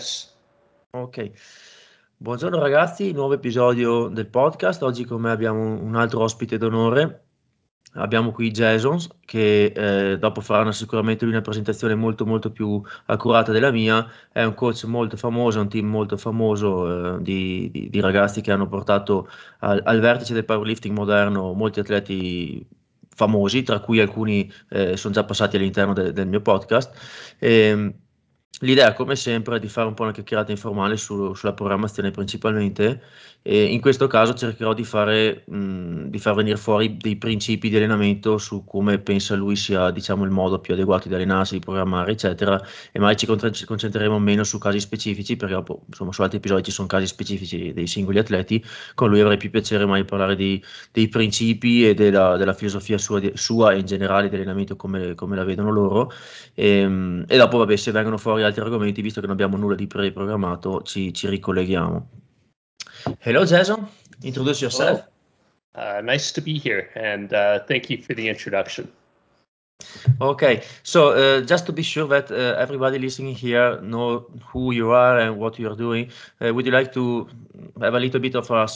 Ok, buongiorno ragazzi, nuovo episodio del podcast. Oggi con me abbiamo un altro ospite d'onore. Abbiamo qui Jason che dopo farà sicuramente una presentazione molto più accurata della mia. È un coach molto famoso, un team molto famoso di ragazzi che hanno portato al vertice del powerlifting moderno molti atleti famosi, tra cui alcuni sono già passati all'interno del mio podcast. L'idea, come sempre, è di fare un po' una chiacchierata informale sulla programmazione principalmente, e in questo caso cercherò di far venire fuori dei principi di allenamento su come pensa lui sia, diciamo, il modo più adeguato di allenarsi, di programmare, eccetera, e magari ci concentreremo meno su casi specifici, perché dopo, insomma, su altri episodi ci sono casi specifici dei singoli atleti. Con lui avrei più piacere mai di parlare dei principi e della filosofia sua e in generale di allenamento come la vedono loro. E dopo, vabbè, se vengono fuori altri argomenti, visto che non abbiamo nulla di preprogrammato, ci ricolleghiamo. Hello, Jason. Introduce yourself. Hello. Nice to be here, and thank you for the introduction. Okay, so just to be sure that everybody listening here know who you are and what you are doing, would you like to have a little bit of a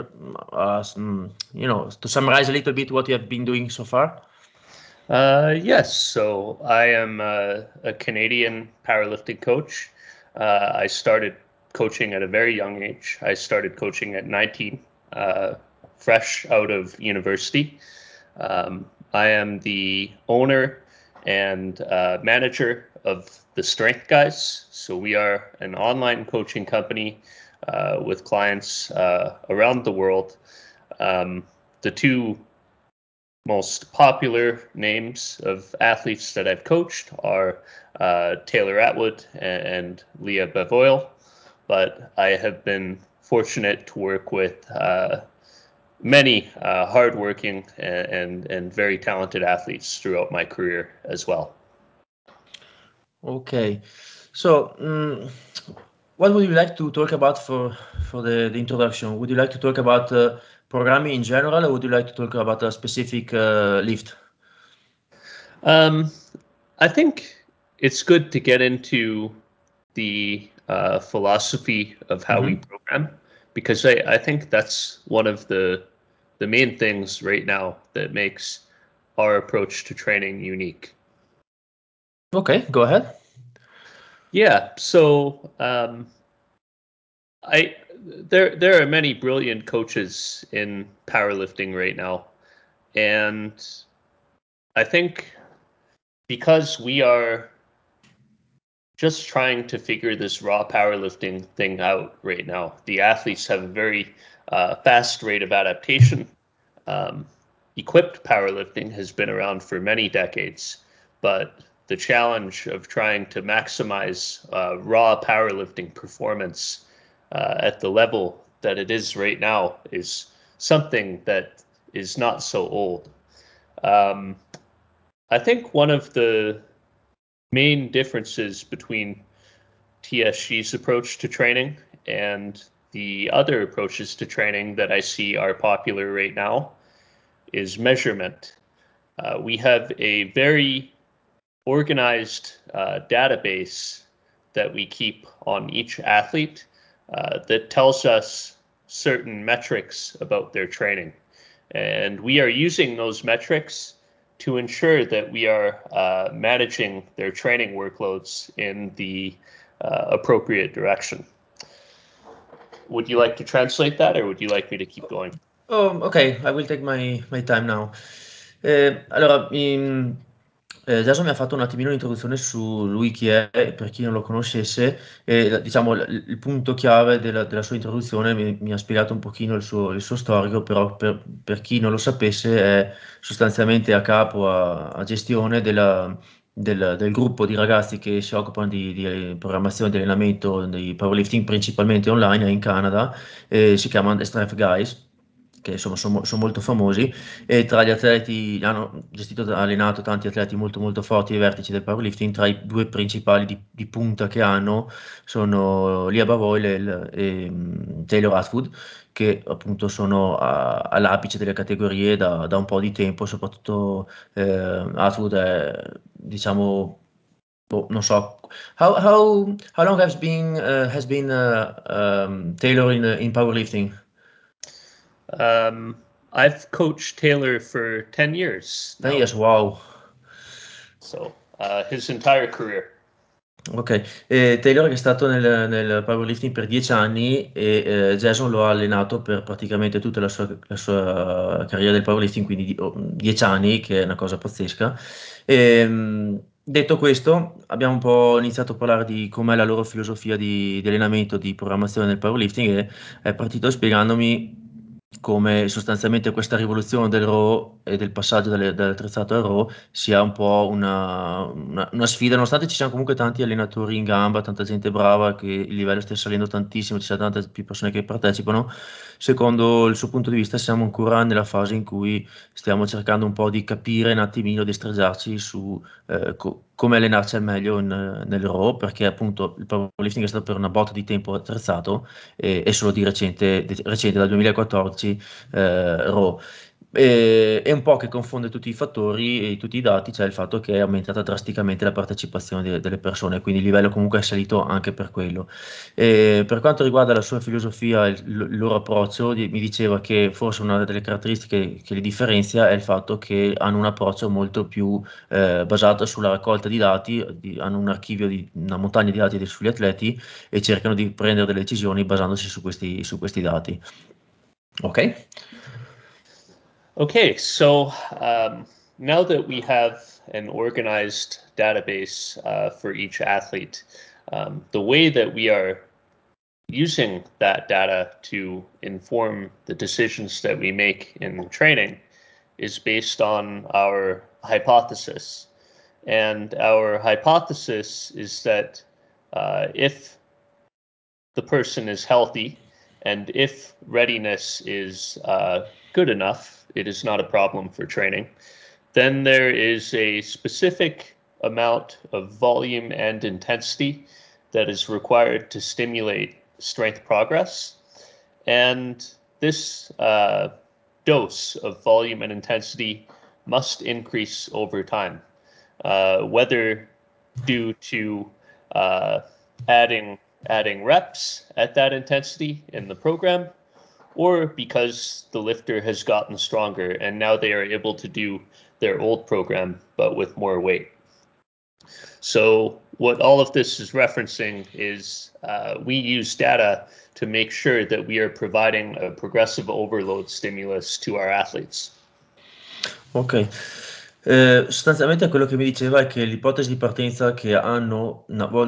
to summarize a little bit what you have been doing so far? Yes, so I am a Canadian powerlifting coach. I started coaching at a very young age. I started coaching at 19, fresh out of university. I am the owner and manager of the Strength Guys. So we are an online coaching company with clients around the world. The two most popular names of athletes that I've coached are Taylor Atwood and Leah Bevoyle, but I have been fortunate to work with many hardworking and very talented athletes throughout my career as well. Okay. So, what would you like to talk about for the introduction? Would you like to talk about programming in general, or would you like to talk about a specific lift? I think it's good to get into the philosophy of how we Mhm. program because I think that's one of the main things right now that makes our approach to training unique. Okay, go ahead. Yeah, so I there are many brilliant coaches in powerlifting right now, and I think because we are just trying to figure this raw powerlifting thing out right now. The athletes have a very fast rate of adaptation. Um, Equipped powerlifting has been around for many decades, but the challenge of trying to maximize raw powerlifting performance at the level that it is right now is something that is not so old. Um, I think one of the main differences between TSG's approach to training and the other approaches to training that I see are popular right now is measurement. We have a very organized database that we keep on each athlete that tells us certain metrics about their training. And we are using those metrics to ensure that we are managing their training workloads in the appropriate direction. Would you like to translate that, or would you like me to keep going? Oh, okay, I will take my time now. Allora, Jason mi ha fatto un attimino un'introduzione su lui chi è, per chi non lo conoscesse, e diciamo il punto chiave della sua introduzione mi ha spiegato un pochino il suo storico, però per chi non lo sapesse è sostanzialmente a capo, a gestione del gruppo di ragazzi che si occupano di programmazione di allenamento di powerlifting principalmente online in Canada. Si chiamano The Strength Guys, che insomma sono molto famosi, e tra gli atleti hanno gestito, allenato tanti atleti molto forti ai vertici del powerlifting. Tra i due principali di punta che hanno sono Lia Bavoil e Taylor Atwood, che appunto sono all'apice delle categorie da un po' di tempo. Soprattutto Atwood è, diciamo, non so. How long has been Taylor in powerlifting? I've coached Taylor for 10 years 10 now. years, wow. So his entire career. Ok, Taylor è stato nel powerlifting per 10 anni e Jason lo ha allenato per praticamente tutta la sua carriera del powerlifting, quindi 10 anni, che è una cosa pazzesca. Detto questo, abbiamo un po' iniziato a parlare di com'è la loro filosofia di allenamento, di programmazione del powerlifting e è partito spiegandomi come sostanzialmente questa rivoluzione del RAW e del passaggio dall'attrezzato al RAW sia un po' una sfida, nonostante ci siano comunque tanti allenatori in gamba, tanta gente brava, che il livello stia salendo tantissimo, ci sono tante più persone che partecipano. Secondo il suo punto di vista siamo ancora nella fase in cui stiamo cercando un po' di capire un attimino, di streggiarci su come allenarci al meglio nel RAW, perché appunto il powerlifting è stato per una botta di tempo attrezzato e solo recente dal 2014 RAW. E un po' che confonde tutti i fattori e tutti i dati, c'è il fatto che è aumentata drasticamente la partecipazione delle persone, quindi il livello comunque è salito anche per quello. E per quanto riguarda la sua filosofia, il loro approccio, mi diceva che forse una delle caratteristiche che li differenzia è il fatto che hanno un approccio molto più basato sulla raccolta di dati, hanno un archivio di una montagna di dati sugli atleti e cercano di prendere delle decisioni basandosi su questi dati. Ok? Okay, so now that we have an organized database for each athlete, the way that we are using that data to inform the decisions that we make in training is based on our hypothesis. And our hypothesis is that if the person is healthy and if readiness is good enough, it is not a problem for training, then there is a specific amount of volume and intensity that is required to stimulate strength progress. And this dose of volume and intensity must increase over time, whether due to uh, adding reps at that intensity in the program, or because the lifter has gotten stronger and now they are able to do their old program but with more weight. So what all of this is referencing is we use data to make sure that we are providing a progressive overload stimulus to our athletes. Ok. Sostanzialmente quello che mi diceva è che l'ipotesi di partenza che hanno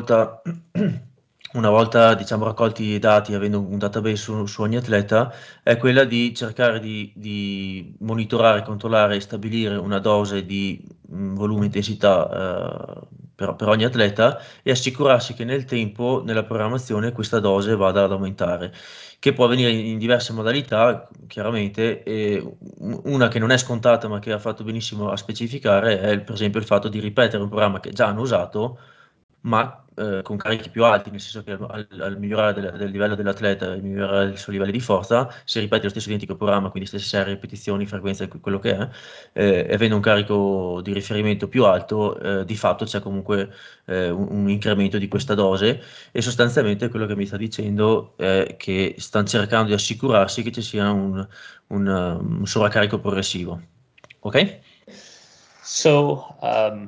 una volta diciamo raccolti i dati, avendo un database su ogni atleta, è quella di cercare di monitorare, controllare e stabilire una dose di volume, intensità per ogni atleta e assicurarsi che nel tempo, nella programmazione, questa dose vada ad aumentare, che può avvenire in diverse modalità, chiaramente, e una che non è scontata ma che ha fatto benissimo a specificare è per esempio il fatto di ripetere un programma che già hanno usato, ma con carichi più alti, nel senso che al migliorare del livello dell'atleta, al migliorare il suo livello di forza, se ripete lo stesso identico programma, quindi stesse serie, ripetizioni, frequenza, quello che è, e avendo un carico di riferimento più alto, di fatto c'è comunque un incremento di questa dose e sostanzialmente quello che mi sta dicendo è che stanno cercando di assicurarsi che ci sia un sovraccarico progressivo. Ok? So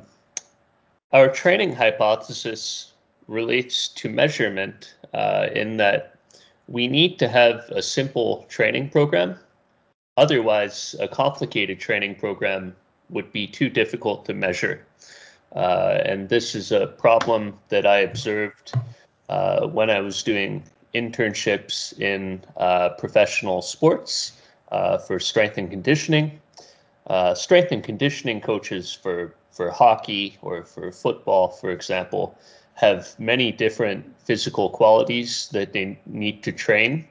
our training hypothesis relates to measurement in that we need to have a simple training program. Otherwise, a complicated training program would be too difficult to measure. And this is a problem that I observed when I was doing internships in professional sports for strength and conditioning. Strength and conditioning coaches for hockey or for football, for example, have many different physical qualities that they need to train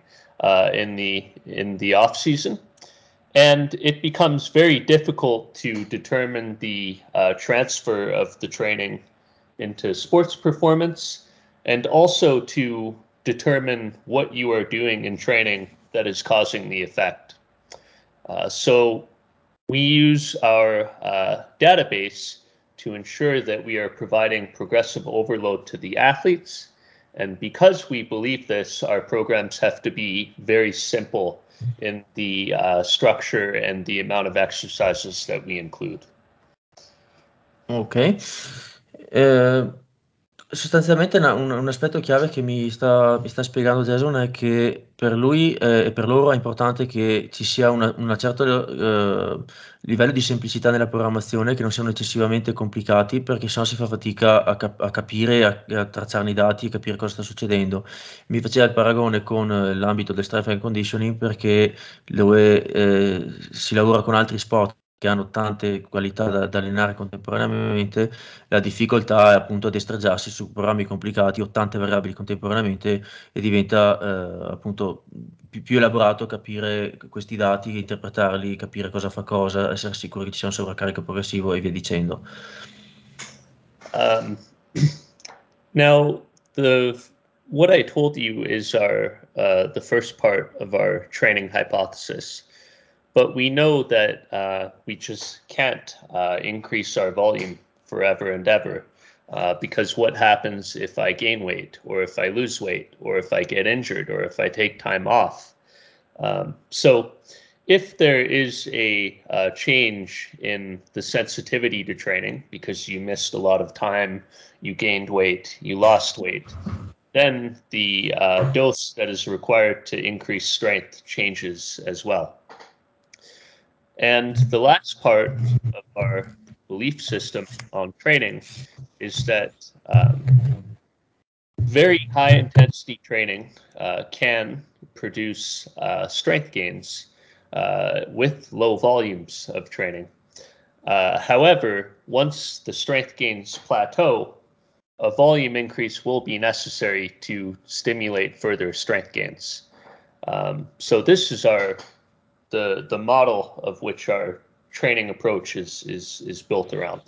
in the off season, and it becomes very difficult to determine the transfer of the training into sports performance, and also to determine what you are doing in training that is causing the effect. So we use our database to ensure that we are providing progressive overload to the athletes. And because we believe this, our programs have to be very simple in the structure and the amount of exercises that we include. Ok. Sostanzialmente un aspetto chiave che mi sta spiegando Jason è che per lui e per loro è importante che ci sia una certa livello di semplicità nella programmazione, che non siano eccessivamente complicati, perché sennò si fa fatica a capire, a tracciarne i dati e capire cosa sta succedendo. Mi faceva il paragone con l'ambito del strength and conditioning, perché dove si lavora con altri sport che hanno tante qualità da allenare contemporaneamente, la difficoltà è appunto destreggiarsi su programmi complicati o tante variabili contemporaneamente, e diventa appunto più elaborato capire questi dati, interpretarli, capire cosa fa cosa, essere sicuri che ci sia un sovraccarico progressivo e via dicendo. Now, what I told you is the first part of our training hypothesis. But we know that we just can't increase our volume forever and ever, because what happens if I gain weight, or if I lose weight, or if I get injured, or if I take time off? So if there is a change in the sensitivity to training because you missed a lot of time, you gained weight, you lost weight, then the dose that is required to increase strength changes as well. And the last part of our belief system on training is that very high intensity training can produce strength gains with low volumes of training. However, once the strength gains plateau, a volume increase will be necessary to stimulate further strength gains. So this is the model of which our training approach is built around.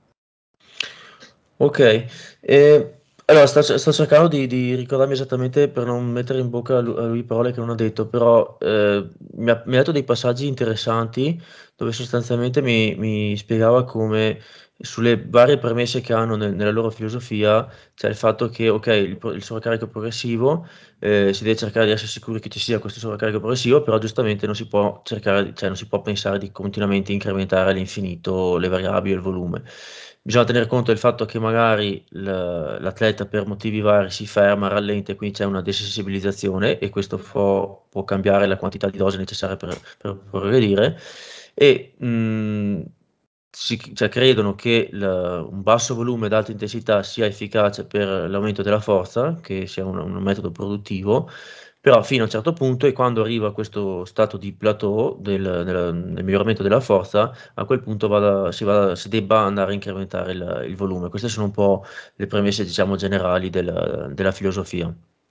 Ok, allora sto cercando di ricordarmi esattamente per non mettere in bocca a lui parole che non ha detto, però mi ha dato dei passaggi interessanti dove sostanzialmente mi spiegava come sulle varie premesse che hanno nella loro filosofia c'è il fatto che, ok, il sovraccarico progressivo, si deve cercare di essere sicuri che ci sia questo sovraccarico progressivo, però giustamente non si può cercare, cioè non si può pensare di continuamente incrementare all'infinito le variabili e il volume. Bisogna tener conto del fatto che magari l'atleta per motivi vari si ferma, rallenta, e quindi c'è una desensibilizzazione, e questo può cambiare la quantità di dose necessaria per progredire. E cioè, credono che un basso volume ad alta intensità sia efficace per l'aumento della forza, che sia un metodo produttivo, però fino a un certo punto, e quando arriva a questo stato di plateau nel miglioramento della forza, a quel punto si debba andare a incrementare il volume. Queste sono un po' le premesse, diciamo, generali della filosofia.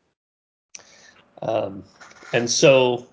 And so,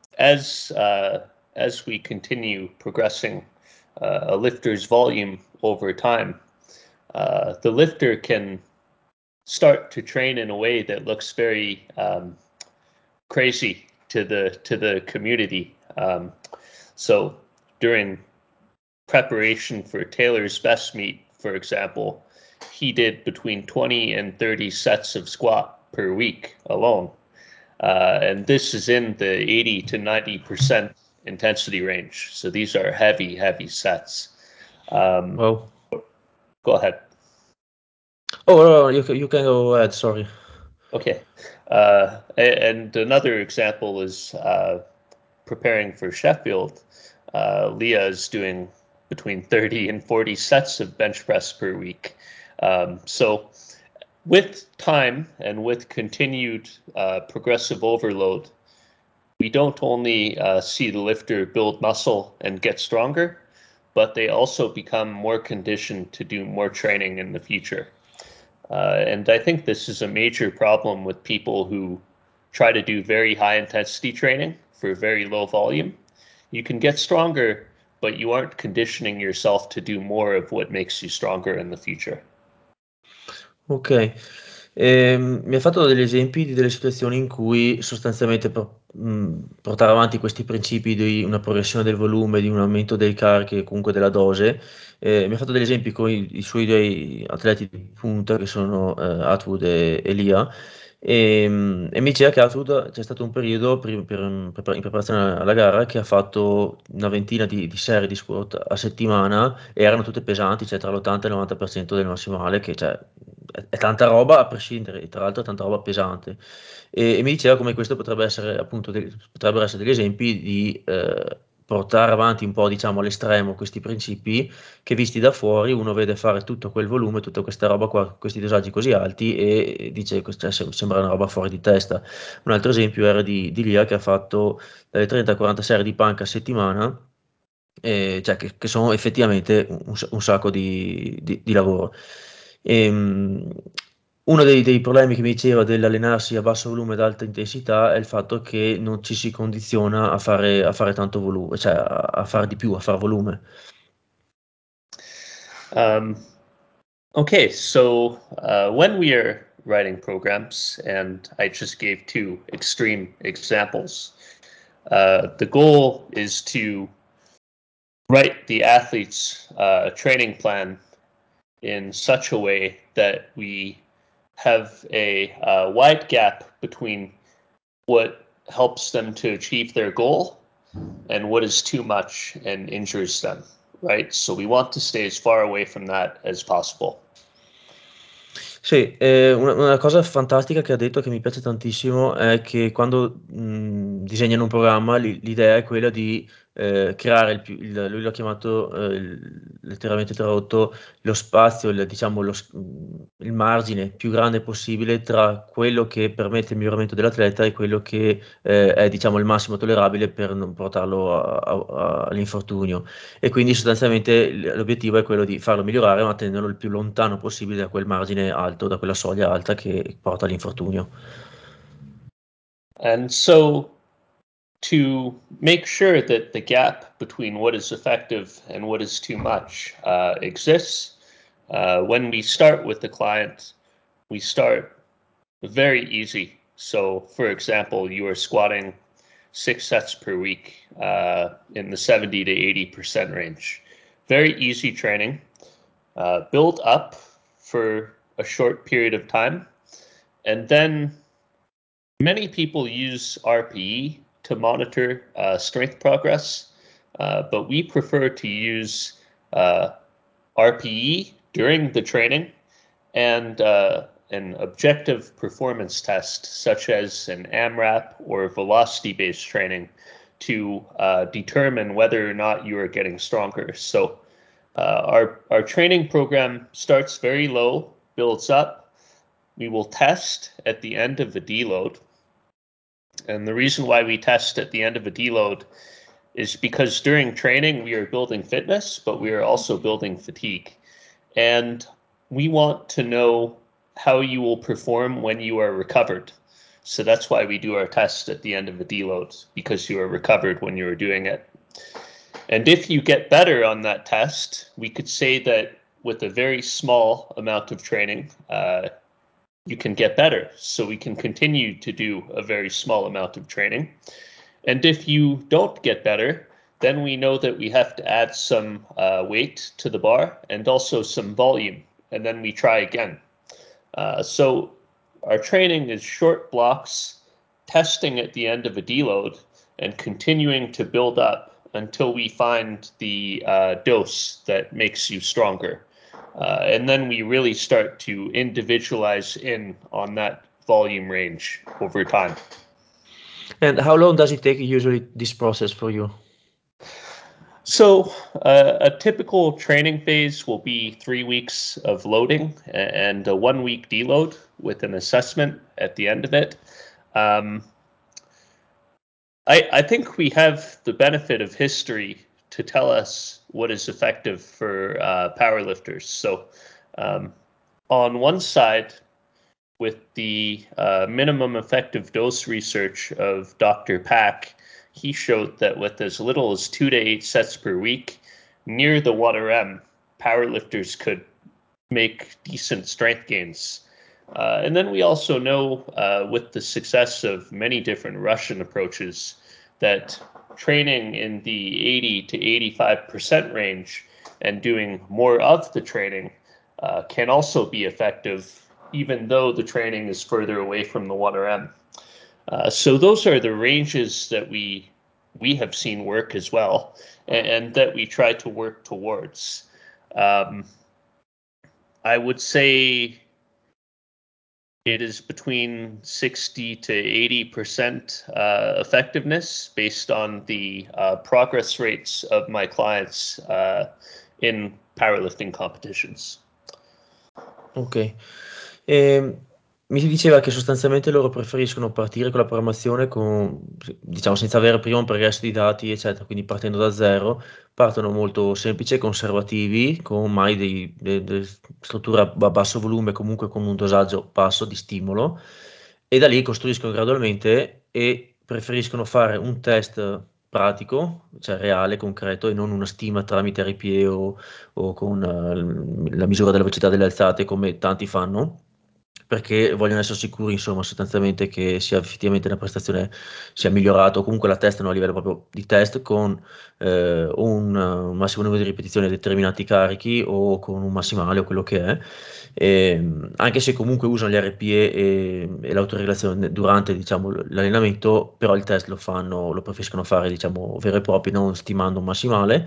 as we continue progressing a lifter's volume over time, the lifter can start to train in a way that looks very crazy to the community. So during preparation for Taylor's best meet, for example, he did between 20 and 30 sets of squat per week alone. And this is in the 80 to 90% intensity range. So these are heavy, heavy sets. Well, Go ahead. oh, you can go ahead, sorry. Okay. And another example is preparing for Sheffield. Leah is doing between 30 and 40 sets of bench press per week. So with time and with continued progressive overload, we don't only see the lifter build muscle and get stronger, but they also become more conditioned to do more training in the future. And I think this is a major problem with people who try to do very high intensity training for very low volume. You can get stronger, but you aren't conditioning yourself to do more of what makes you stronger in the future. Ok, Mi ha fatto degli esempi di delle situazioni in cui sostanzialmente portare avanti questi principi di una progressione del volume, di un aumento dei carichi e comunque della dose. Mi ha fatto degli esempi con i suoi 2 atleti di punta che sono, Atwood e Lia, e mi diceva che Atwood c'è stato un periodo in preparazione alla gara che ha fatto una ventina di serie di squat a settimana e erano tutte pesanti, cioè tra l'80 e il 90% del massimale, che cioè è tanta roba a prescindere, e tra l'altro è tanta roba pesante. E mi diceva come questo potrebbe essere appunto potrebbero essere degli esempi di portare avanti un po', diciamo, all'estremo questi principi che visti da fuori uno vede fare tutto quel volume, tutta questa roba qua, questi dosaggi così alti e dice, cioè, sembra una roba fuori di testa. Un altro esempio era di Lia che ha fatto dalle 30-40 serie di panca a settimana, cioè che sono effettivamente un sacco di lavoro. Uno dei problemi che mi diceva dell'allenarsi a basso volume ad alta intensità è il fatto che non ci si condiziona a fare tanto volume, cioè a fare di più, a fare volume. Okay, so when we are writing programs, and I just gave 2 extreme examples, the goal is to write the athlete's training plan in such a way that we have a wide gap between what helps them to achieve their goal and what is too much and injures them, right? So we want to stay as far away from that as possible. Sì, una cosa fantastica che ha detto, che mi piace tantissimo, è che quando, disegnano un programma l'idea è quella di, creare lui l'ha chiamato, letteralmente tradotto, lo spazio, diciamo il margine più grande possibile tra quello che permette il miglioramento dell'atleta e quello che, è diciamo il massimo tollerabile per non portarlo all'infortunio. E quindi sostanzialmente l'obiettivo è quello di farlo migliorare, ma tenerlo il più lontano possibile da quel margine alto, da quella soglia alta che porta all'infortunio. And so to make sure that the gap between what is effective and what is too much exists, when we start with the client, we start very easy. So, for example, you are squatting 6 sets per week in the 70 to 80% range. Very easy training. Build up for a short period of time. And then many people use RPE to monitor strength progress, but we prefer to use RPE during the training and an objective performance test, such as an AMRAP or velocity-based training, to determine whether or not you are getting stronger. So our training program starts very low, builds up. We will test at the end of the deload. And the reason why we test at the end of a deload is because during training we are building fitness, but we are also building fatigue. And we want to know how you will perform when you are recovered. So that's why we do our test at the end of a deload, because you are recovered when you are doing it. And if you get better on that test, we could say that with a very small amount of training, you can get better. So we can continue to do a very small amount of training. And if you don't get better, then we know that we have to add some weight to the bar and also some volume. And then we try again. So our training is short blocks, testing at the end of a deload, and continuing to build up until we find the dose that makes you stronger. And then we really start to individualize in on that volume range over time. And how long does it take usually this process for you? So a typical training phase will be 3 weeks of loading and a 1 week deload with an assessment at the end of it. Um, I think we have the benefit of history to tell us what is effective for powerlifters. So on one side, with the minimum effective dose research of Dr. Pack, he showed that with as little as 2 to 8 sets per week, near the 1RM, powerlifters could make decent strength gains. And then we also know with the success of many different Russian approaches that training in the 80 to 85% range and doing more of the training can also be effective, even though the training is further away from the 1RM. So those are the ranges that we have seen work as well, and that we try to work towards. I would say it is between 60 to 80% effectiveness based on the progress rates of my clients in powerlifting competitions. Ok. Mi si diceva che sostanzialmente loro preferiscono partire con la programmazione diciamo, senza avere prima un progresso di dati, eccetera, quindi partendo da zero, partono molto semplici e conservativi, con mai delle strutture a basso volume, comunque con un dosaggio basso di stimolo, e da lì costruiscono gradualmente e preferiscono fare un test pratico, cioè reale, concreto, e non una stima tramite RPE o con la misura della velocità delle alzate come tanti fanno, perché vogliono essere sicuri, insomma, sostanzialmente che sia effettivamente la prestazione sia migliorata o comunque la testano a livello proprio di test con un massimo numero di ripetizioni a determinati carichi o con un massimale o quello che è. Anche se comunque usano gli RPE e l'autoregolazione durante, diciamo, l'allenamento, però il test lo preferiscono fare, diciamo, vero e proprio, non stimando un massimale.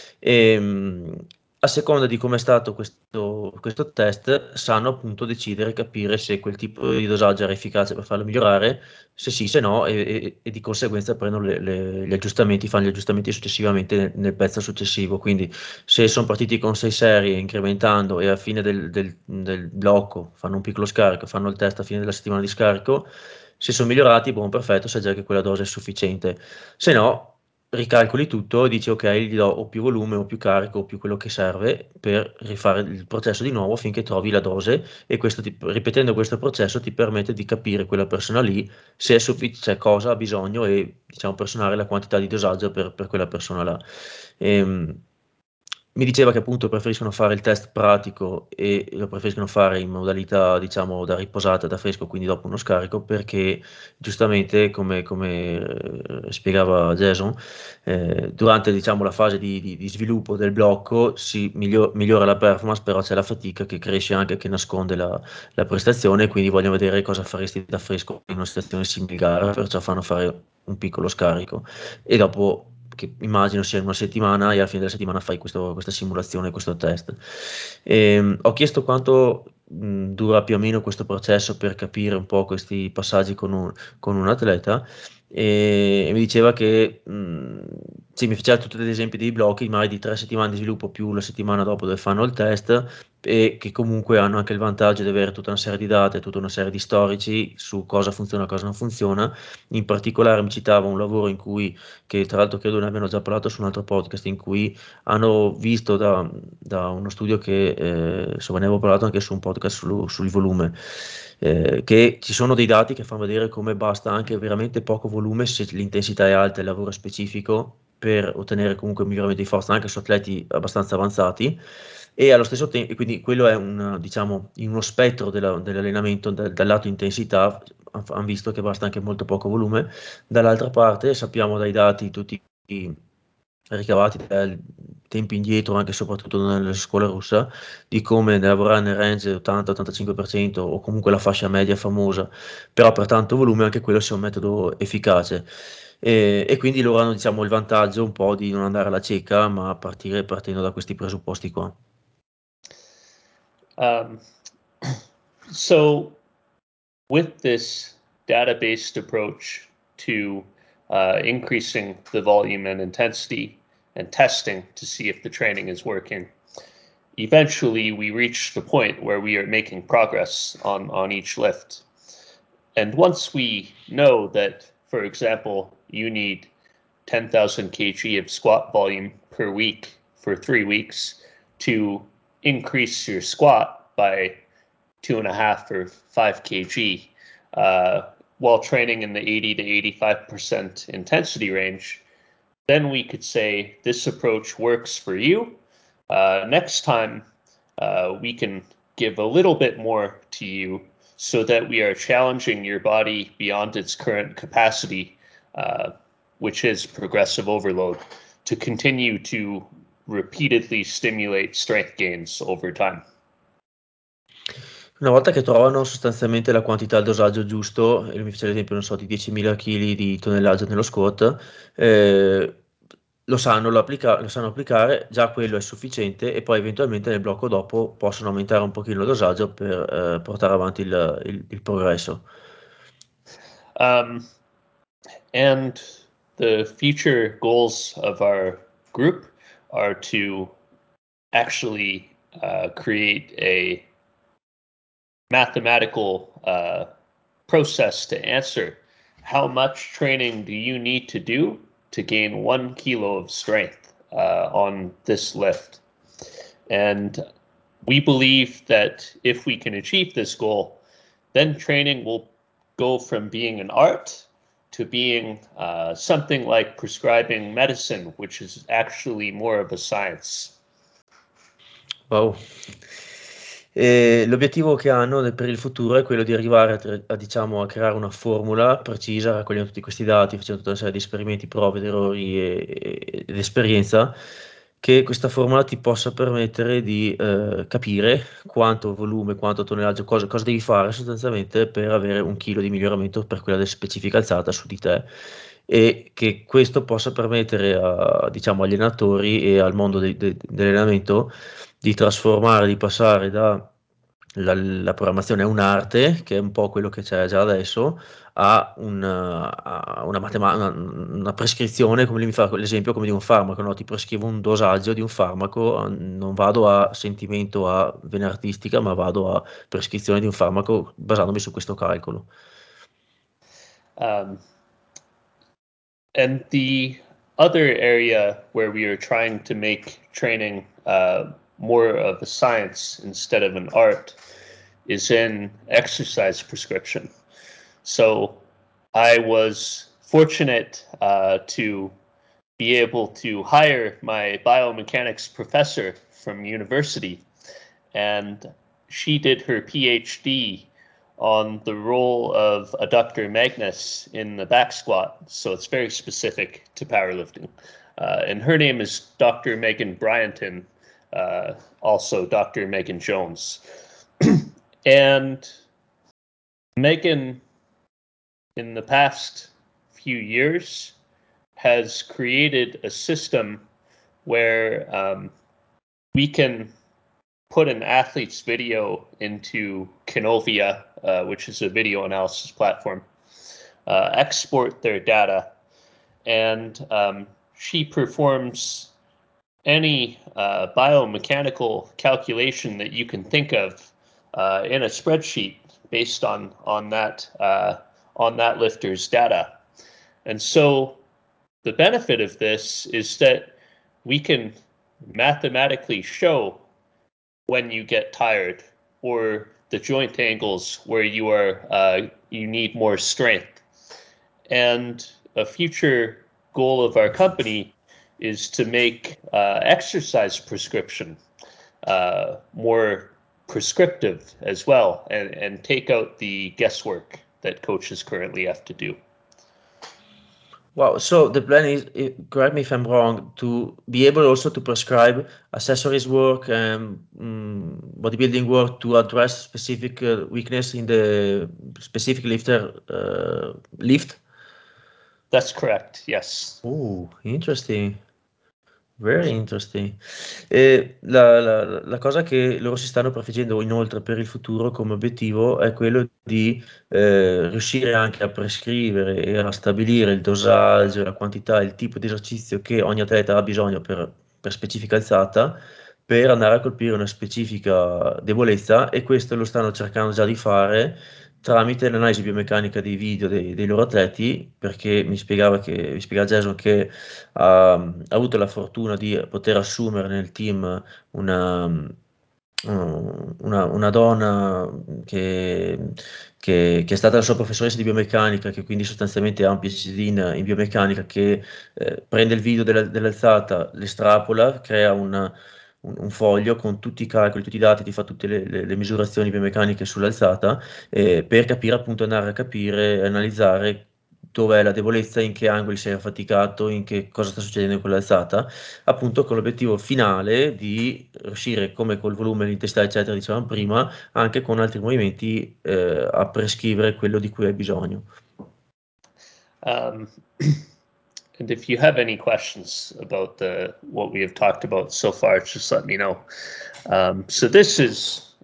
E, a seconda di come è stato questo test, sanno appunto decidere e capire se quel tipo di dosaggio era efficace per farlo migliorare, se sì, se no, e di conseguenza prendono gli aggiustamenti, fanno gli aggiustamenti successivamente nel pezzo successivo. Quindi se sono partiti con 6 serie incrementando e alla fine del blocco fanno un piccolo scarico, fanno il test a fine della settimana di scarico, se sono migliorati, buon perfetto, sai già che quella dose è sufficiente. Se no, ricalcoli tutto e dici ok, gli do o più volume o più carico o più quello che serve per rifare il processo di nuovo finché trovi la dose e ripetendo questo processo ti permette di capire quella persona lì se è cioè, cosa ha bisogno e diciamo personare la quantità di dosaggio per quella persona là. Ehm, Mi diceva che appunto preferiscono fare il test pratico e lo preferiscono fare in modalità, diciamo, da riposata, da fresco, quindi dopo uno scarico, perché giustamente, come spiegava Jason, durante, diciamo, la fase di sviluppo del blocco migliora la performance, però c'è la fatica che cresce anche, che nasconde la prestazione, quindi vogliono vedere cosa faresti da fresco in una situazione simile gara, perciò fanno fare un piccolo scarico e dopo che immagino sia in una settimana e alla fine della settimana fai questa simulazione, questo test. Ho chiesto quanto dura più o meno questo processo per capire un po' questi passaggi con un atleta e mi diceva che sì, mi faceva tutti degli esempi dei blocchi, magari di 3 settimane di sviluppo più la settimana dopo dove fanno il test e che comunque hanno anche il vantaggio di avere tutta una serie di date, tutta una serie di storici su cosa funziona e cosa non funziona. In particolare mi citava un lavoro che tra l'altro credo ne abbiano già parlato su un altro podcast, in cui hanno visto da uno studio che insomma ne avevo parlato anche su un podcast sul volume, che ci sono dei dati che fanno vedere come basta anche veramente poco volume se l'intensità è alta e il lavoro è specifico per ottenere comunque un miglioramento di forza anche su atleti abbastanza avanzati e allo stesso tempo, quindi quello è diciamo, in uno spettro dell'allenamento dal lato intensità, hanno visto che basta anche molto poco volume. Dall'altra parte sappiamo dai dati tutti ricavati dai tempi indietro, anche e soprattutto nelle scuole russe, di come lavorare nel range 80-85% o comunque la fascia media famosa, però per tanto volume anche quello sia un metodo efficace. E quindi loro hanno diciamo il vantaggio un po' di non andare alla cieca, ma partendo da questi presupposti qua. Um, so with this data-based approach to increasing the volume and intensity and testing to see if the training is working, eventually we reach the point where we are making progress on each lift. And once we know that, for example, you need 10,000 kg of squat volume per week for 3 weeks to increase your squat by 2.5 or 5 kg while training in the 80 to 85% intensity range, then we could say this approach works for you. Next time, we can give a little bit more to you so that we are challenging your body beyond its current capacity, which is progressive overload, to continue to repeatedly stimulate strength gains over time. Una volta che trovano sostanzialmente la quantità, il dosaggio giusto, e lui mi faceva l'esempio, non so, di 10.000 kg di tonnellaggio nello squat, lo sanno applicare, già quello è sufficiente e poi eventualmente nel blocco dopo possono aumentare un pochino il dosaggio per portare avanti il progresso. And the future goals of our group are to actually create a mathematical process to answer how much training do you need to do to gain 1 kilo of strength on this lift. And we believe that if we can achieve this goal, then training will go from being an art to being something like prescribing medicine, which is actually more of a science. Wow. L'obiettivo che hanno per il futuro è quello di arrivare diciamo, a creare una formula precisa, raccogliendo tutti questi dati, facendo tutta una serie di esperimenti, prove, ed errori ed esperienza, che questa formula ti possa permettere di capire quanto volume, quanto tonnellaggio, cosa devi fare sostanzialmente per avere 1 chilo di miglioramento per quella specifica alzata su di te, e che questo possa permettere diciamo, agli allenatori e al mondo dell'allenamento di trasformare, di passare da la programmazione è un'arte, che è un po' quello che c'è già adesso, a una prescrizione, come lui mi fa l'esempio come di un farmaco, no? Ti prescrivo un dosaggio di un farmaco, non vado a sentimento, a vena artistica, ma vado a prescrizione di un farmaco basandomi su questo calcolo. And the other area where we are trying to make training more of a science instead of an art is in exercise prescription. So I was fortunate to be able to hire my biomechanics professor from university, and she did her PhD on the role of adductor magnus in the back squat. So it's very specific to powerlifting. And her name is Dr. Megan Bryanton, also Dr. Megan Jones. And Megan, in the past few years, has created a system where we can put an athlete's video into Canovia, which is a video analysis platform, export their data, and she performs any biomechanical calculation that you can think of in a spreadsheet based on that lifter's data. And so the benefit of this is that we can mathematically show when you get tired or the joint angles where you need more strength. And a future goal of our company is to make exercise prescription more prescriptive as well, and take out the guesswork that coaches currently have to do. Wow, so the plan is, correct me if I'm wrong, to be able also to prescribe accessories work and bodybuilding work to address specific weakness in the specific lifter lift? That's correct, yes. Oh, interesting. Very interesting. E la cosa che loro si stanno prefiggendo inoltre per il futuro come obiettivo è quello di riuscire anche a prescrivere e a stabilire il dosaggio, la quantità, il tipo di esercizio che ogni atleta ha bisogno per specifica alzata, per andare a colpire una specifica debolezza, e questo lo stanno cercando già di fare tramite l'analisi biomeccanica dei video dei loro atleti, perché mi spiegava Jason che ha avuto la fortuna di poter assumere nel team una donna che è stata la sua professoressa di biomeccanica, che quindi sostanzialmente ha un PhD in biomeccanica, che prende il video dell'alzata, l'estrapola, crea un foglio con tutti i calcoli, tutti i dati, ti fa tutte le misurazioni biomeccaniche sull'alzata, per capire appunto, andare a capire, analizzare dov'è la debolezza, in che angoli sei affaticato, in che cosa sta succedendo in quell'alzata, appunto con l'obiettivo finale di riuscire, come col volume, l'intensità, eccetera, dicevamo prima, anche con altri movimenti a prescrivere quello di cui hai bisogno. And if you have any questions about what we have talked about so far, just let me know. So this is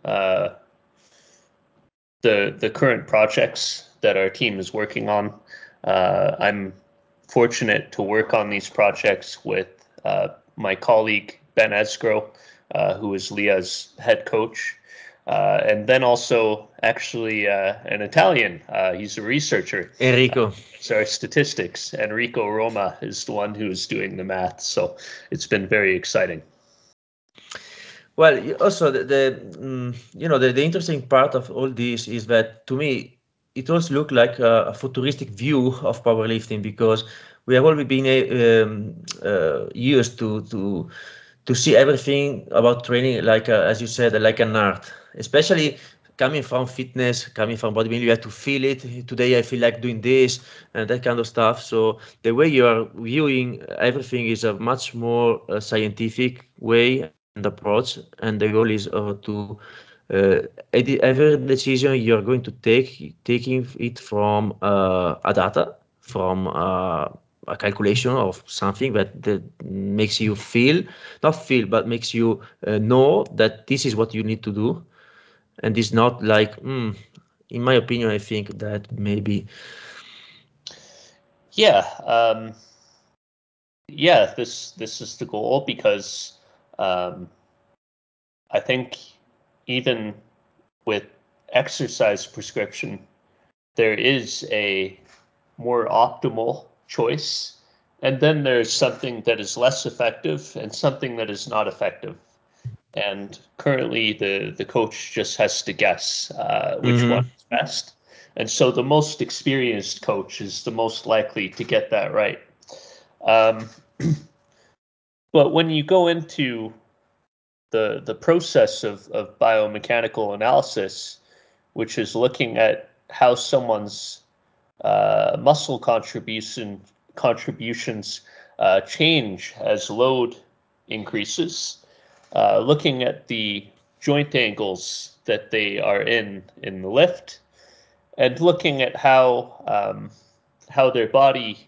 the current projects that our team is working on. I'm fortunate to work on these projects with my colleague Ben Esgro, who is Leah's head coach, and then also actually an Italian. He's a researcher. Enrico. So our statistics. Enrico Roma is the one who's doing the math. So it's been very exciting. Well, also the interesting part of all this is that, to me, it also looked like a futuristic view of powerlifting, because we have always been used to see everything about training like as you said, like an art, especially coming from fitness, coming from bodybuilding. You have to feel it. Today I feel like doing this and that kind of stuff. So the way you are viewing everything is a much more scientific way and approach, and the goal is to every decision you're going to taking it from a data, from a calculation of something that makes you not feel, but makes you know that this is what you need to do, and it's not like, in my opinion, I think that maybe. Yeah. Yeah, this is the goal, because I think even with exercise prescription, there is a more optimal choice, and then there's something that is less effective and something that is not effective. And currently, the coach just has to guess which one is best. And so the most experienced coach is the most likely to get that right. But when you go into the process of biomechanical analysis, which is looking at how someone's muscle contributions change as load increases, looking at the joint angles that they are in the lift, and looking at how their body,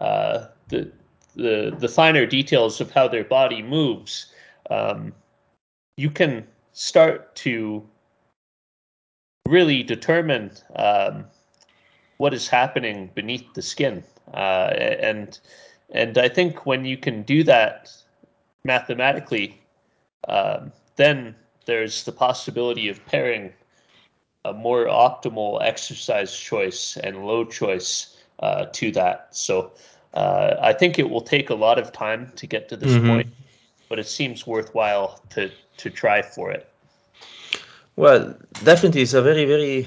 the finer details of how their body moves, you can start to really determine what is happening beneath the skin, and I think when you can do that mathematically, then there's the possibility of pairing a more optimal exercise choice and load choice to that. So I think it will take a lot of time to get to this point, but it seems worthwhile to try for it. Well, definitely, it's a very, very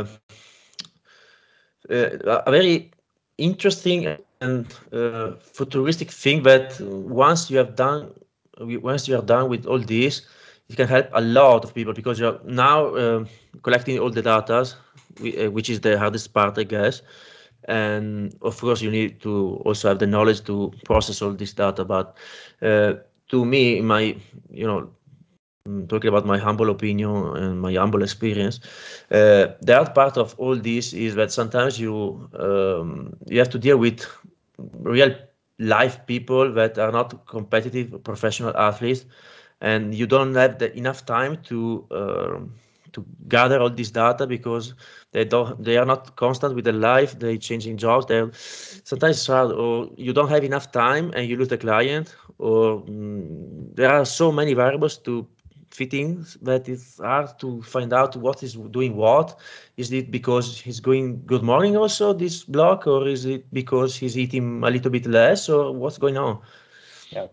a very interesting and futuristic thing that once you are done with all this, it can help a lot of people, because you're now collecting all the data, which is the hardest part, I guess. And of course, you need to also have the knowledge to process all this data. But to me, talking about my humble opinion and my humble experience, the hard part of all this is that sometimes you have to deal with real life people that are not competitive professional athletes, and you don't have enough time to gather all this data, because they are not constant with their life. They're changing jobs. Sometimes it's hard, or you don't have enough time and you lose the client, or there are so many variables to fit in that it's hard to find out what is doing what. Is it because he's going good morning also, this block, or is it because he's eating a little bit less, or what's going on? Yeah.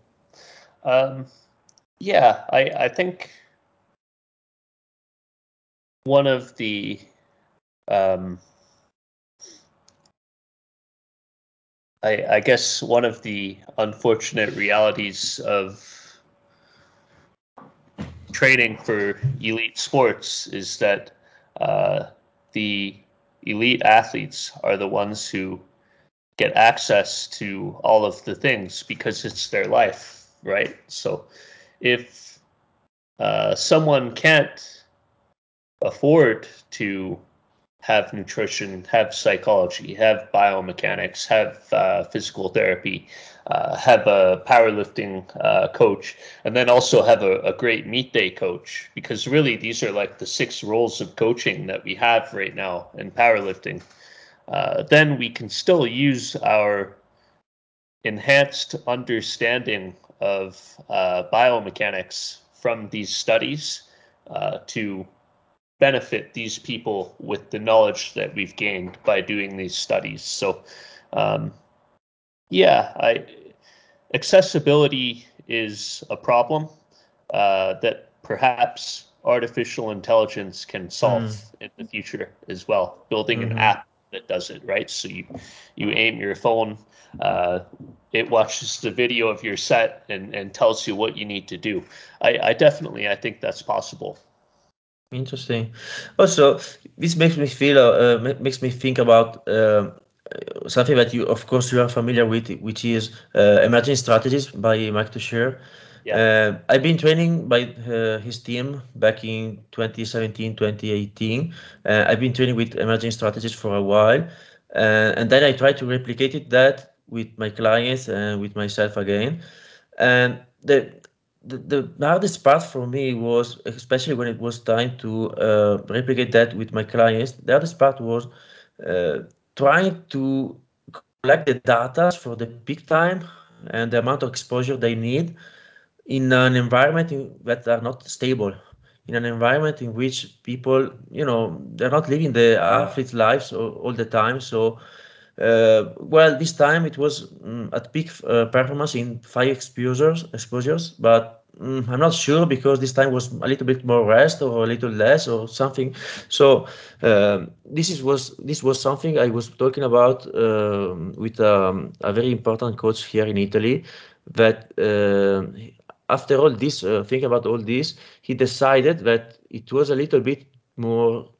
I think one of the I guess one of the unfortunate realities of training for elite sports is that the elite athletes are the ones who get access to all of the things because it's their life, right? So if someone can't afford to have nutrition, have psychology, have biomechanics, have physical therapy, have a powerlifting coach, and then also have a great meet day coach, because really these are like the 6 roles of coaching that we have right now in powerlifting. Then we can still use our enhanced understanding of biomechanics from these studies to benefit these people with the knowledge that we've gained by doing these studies. So, yeah, accessibility is a problem that perhaps artificial intelligence can solve in the future as well. Building an app that does it, right? So you aim your phone, it watches the video of your set and tells you what you need to do. I think that's possible. Interesting. Also, this makes me feel, makes me think about something that you, of course, you are familiar with, which is Emerging Strategies by Mike Tuchscherer. Yeah. I've been training by his team back in 2017, 2018. I've been training with Emerging Strategies for a while, and then I try to replicate that with my clients and with myself again. And the hardest part for me was, especially when it was time to replicate that with my clients, the hardest part was trying to collect the data for the peak time and the amount of exposure they need in an environment that are not stable, in an environment in which people, they're not living the athlete's lives all the time. So, well, this time it was at peak performance in 5 exposures, but I'm not sure because this time was a little bit more rest or a little less or something. So this was something I was talking about with a very important coach here in Italy. That after all this, thinking about all this, he decided that it was a little bit more.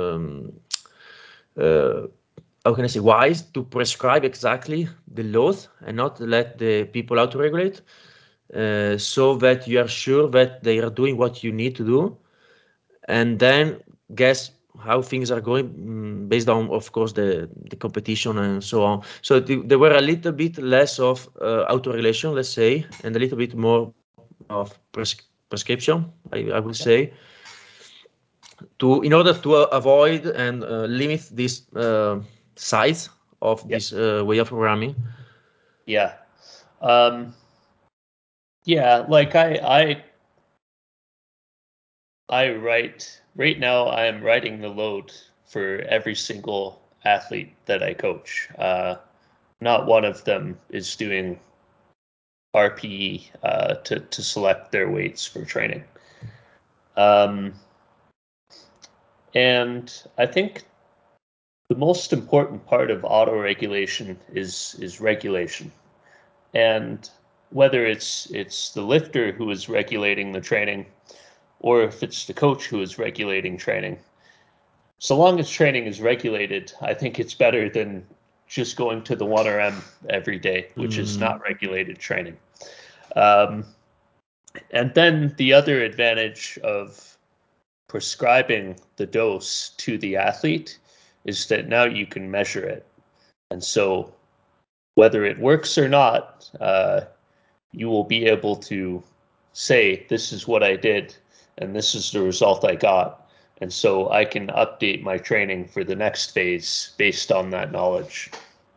Uh, how can I say, wise to prescribe exactly the load and not let the people auto-regulate, so that you are sure that they are doing what you need to do, and then guess how things are going based on, of course, the competition and so on. So there were a little bit less of auto-regulation, let's say, and a little bit more of prescription, I would say, in order to avoid and limit this size of this way of programming. Yeah. Yeah, like I write right now. I am writing the load for every single athlete that I coach. Not one of them is doing RPE to select their weights for training. And I think the most important part of auto-regulation is regulation. And whether it's the lifter who is regulating the training, or if it's the coach who is regulating training, so long as training is regulated, I think it's better than just going to the 1RM every day, which is not regulated training. And then the other advantage of prescribing the dose to the athlete is that now you can measure it. And so whether it works or not, you will be able to say, this is what I did, and this is the result I got. And so I can update my training for the next phase based on that knowledge.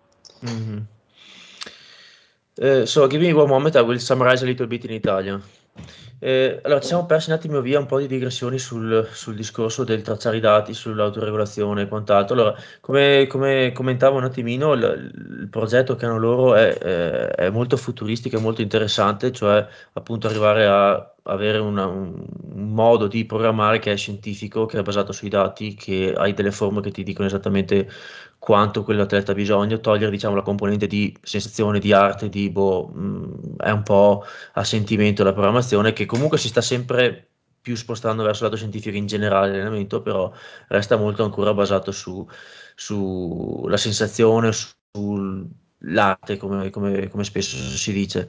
So give me one moment, I will summarize a little bit in Italian. Allora, ci siamo persi un attimo via un po' di digressioni sul discorso del tracciare i dati, sull'autoregolazione e quant'altro. Allora, come commentavo un attimino, il progetto che hanno loro è molto futuristico e molto interessante, cioè appunto arrivare a avere un modo di programmare che è scientifico, che è basato sui dati, che hai delle formule che ti dicono esattamente quanto quell'atleta ha bisogno, togliere diciamo la componente di sensazione, di arte, è un po' a sentimento la programmazione, che comunque si sta sempre più spostando verso il lato scientifico in generale l'allenamento, però resta molto ancora basato sulla sensazione, sull'arte, come spesso si dice.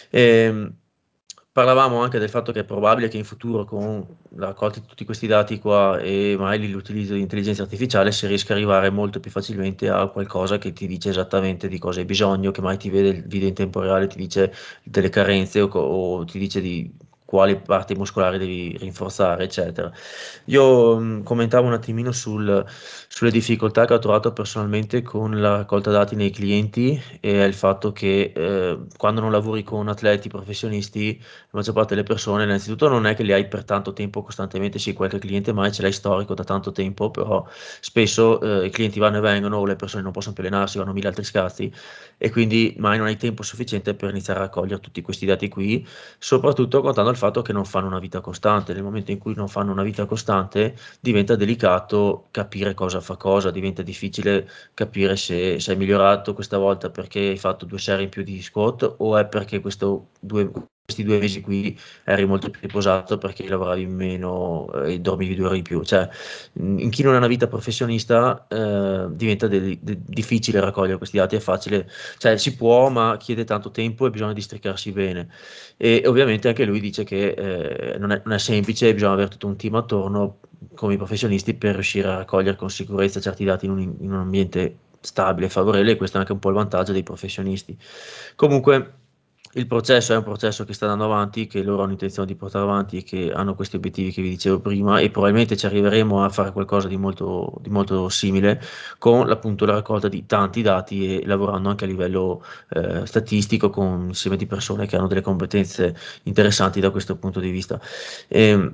E, parlavamo anche del fatto che è probabile che in futuro, con la raccolta di tutti questi dati qua e magari l'utilizzo di intelligenza artificiale, si riesca ad arrivare molto più facilmente a qualcosa che ti dice esattamente di cosa hai bisogno, che mai ti vede il video in tempo reale, ti dice delle carenze o ti dice di quali parti muscolari devi rinforzare, eccetera. Io commentavo un attimino sulle difficoltà che ho trovato personalmente con la raccolta dati nei clienti e il fatto che quando non lavori con atleti professionisti, la maggior parte delle persone, innanzitutto non è che li hai per tanto tempo costantemente, sì, qualche cliente mai ce l'hai storico da tanto tempo, però spesso i clienti vanno e vengono o le persone non possono più allenarsi, vanno mille altri scazzi e quindi mai non hai tempo sufficiente per iniziare a raccogliere tutti questi dati qui, soprattutto contando il fatto che non fanno una vita costante. Nel momento in cui non fanno una vita costante diventa delicato capire cosa fa cosa, diventa difficile capire se sei migliorato questa volta perché hai fatto 2 serie in più di squat o è perché questi 2 mesi qui eri molto più riposato perché lavoravi meno e dormivi 2 ore in più. Cioè, in chi non ha una vita professionista diventa difficile raccogliere questi dati, è facile, cioè si può, ma chiede tanto tempo e bisogna districarsi bene. E ovviamente anche lui dice che non è semplice, bisogna avere tutto un team attorno come i professionisti per riuscire a raccogliere con sicurezza certi dati in un ambiente stabile e favorevole, e questo è anche un po' il vantaggio dei professionisti. Comunque il processo è un processo che sta andando avanti, che loro hanno intenzione di portare avanti e che hanno questi obiettivi che vi dicevo prima e probabilmente ci arriveremo a fare qualcosa di molto simile con appunto la raccolta di tanti dati e lavorando anche a livello statistico con un insieme di persone che hanno delle competenze interessanti da questo punto di vista. E,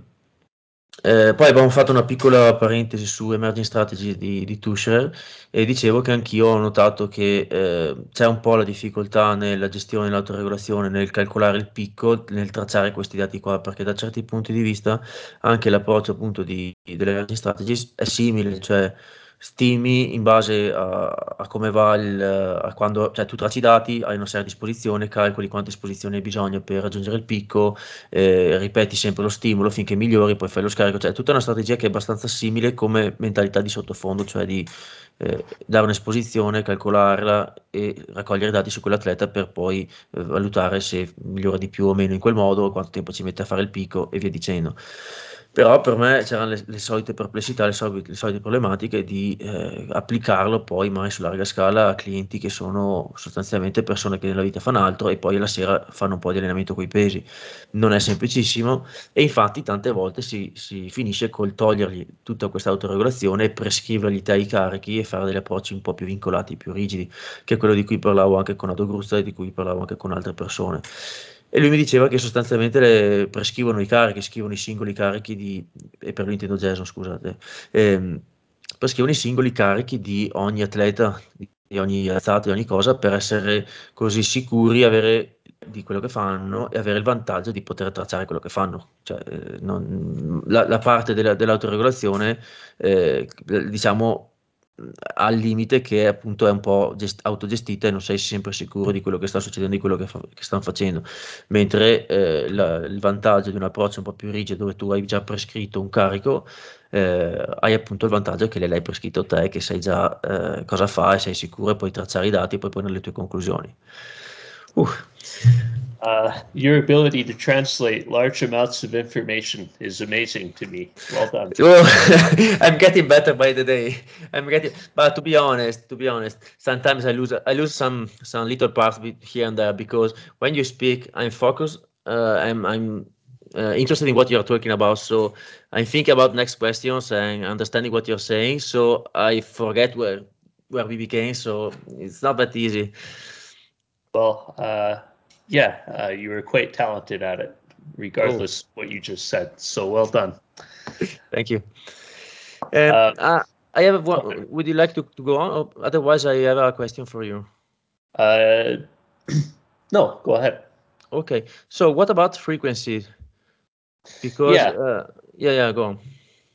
poi abbiamo fatto una piccola parentesi su Emerging Strategy di Tusher e dicevo che anch'io ho notato che c'è un po' la difficoltà nella gestione dell'autoregolazione, nel calcolare il picco, nel tracciare questi dati qua, perché da certi punti di vista anche l'approccio appunto delle Emerging Strategies è simile, cioè stimi in base a come va a quando, cioè tu tracci i dati, hai una serie a disposizione, calcoli quante esposizioni hai bisogno per raggiungere il picco, ripeti sempre lo stimolo finché migliori, poi fai lo scarico, cioè è tutta una strategia che è abbastanza simile come mentalità di sottofondo, cioè di dare un'esposizione, calcolarla e raccogliere dati su quell'atleta per poi valutare se migliora di più o meno in quel modo, quanto tempo ci mette a fare il picco e via dicendo. Però per me c'erano le solite perplessità, le solite problematiche di applicarlo poi mai su larga scala a clienti che sono sostanzialmente persone che nella vita fanno altro e poi la sera fanno un po' di allenamento coi pesi. Non è semplicissimo e infatti tante volte si finisce col togliergli tutta questa autoregolazione e prescrivergli i carichi e fare degli approcci un po' più vincolati, più rigidi, che è quello di cui parlavo anche con Ado Gruzza e di cui parlavo anche con altre persone. E lui mi diceva che sostanzialmente prescrivono i carichi, scrivono i singoli carichi e per lui intendo Jason, scusate, prescrivono i singoli carichi di ogni atleta, di ogni alzata, di ogni cosa, per essere così sicuri, di quello che fanno e avere il vantaggio di poter tracciare quello che fanno. Cioè, la parte dell'autoregolazione, diciamo, al limite che appunto è un po' autogestita e non sei sempre sicuro di quello che sta succedendo, di quello che stanno facendo. Mentre il vantaggio di un approccio un po' più rigido dove tu hai già prescritto un carico, hai appunto il vantaggio che l'hai prescritto te, che sai già cosa fa e sei sicuro e puoi tracciare i dati e poi prendere le tue conclusioni. Your ability to translate large amounts of information is amazing to me. Well done. Well, I'm getting better by the day. But to be honest, sometimes I lose some little parts here and there because when you speak, I'm focused. I'm interested in what you're talking about, so I'm thinking about next questions and understanding what you're saying. So I forget where we began. So it's not that easy. Well, yeah, you were quite talented at it, Oh, regardless what you just said. So well done. thank you. Uh, I have one. Would you like to go on? Or otherwise, I have a question for you. uh, no, go ahead. Okay. So what about frequency? Because Yeah, yeah, go on.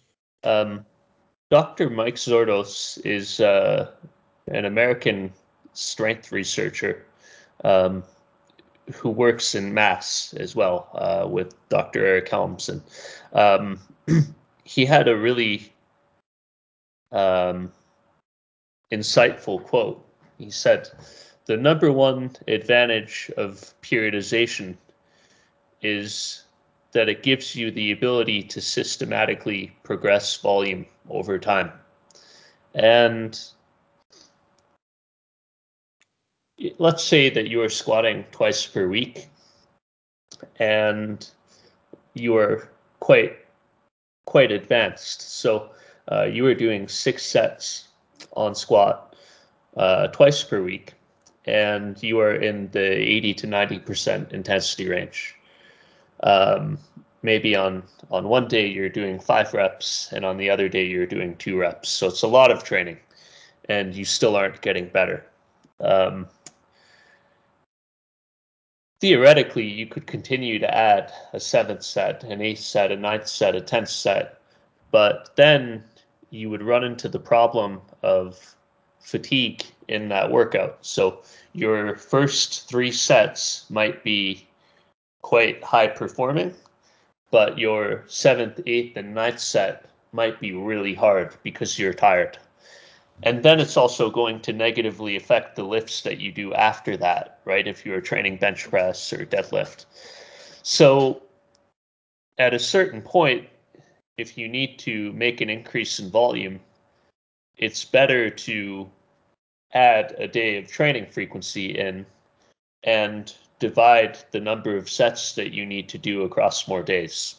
Dr. Mike Zordos is an American strength researcher. Um, who works in Mass as well with Dr. Eric Helms, and he had a really insightful quote. He said, "The number one advantage of periodization is that it gives you the ability to systematically progress volume over time." And let's say that you are squatting twice per week and you are quite advanced. So you are doing 6 sets on squat twice per week, and you are in the 80 to 90% intensity range. Maybe on one day you're doing 5 reps, and on the other day you're doing 2 reps. So it's a lot of training, and you still aren't getting better. Theoretically, you could continue to add a 7th set, an 8th set, a 9th set, a 10th set, but then you would run into the problem of fatigue in that workout. So your first 3 sets might be quite high performing, but your 7th, 8th, and 9th set might be really hard because you're tired. And then it's also going to negatively affect the lifts that you do after that, right? If you're training bench press or deadlift. So at a certain point, if you need to make an increase in volume, it's better to add a day of training frequency in and divide the number of sets that you need to do across more days.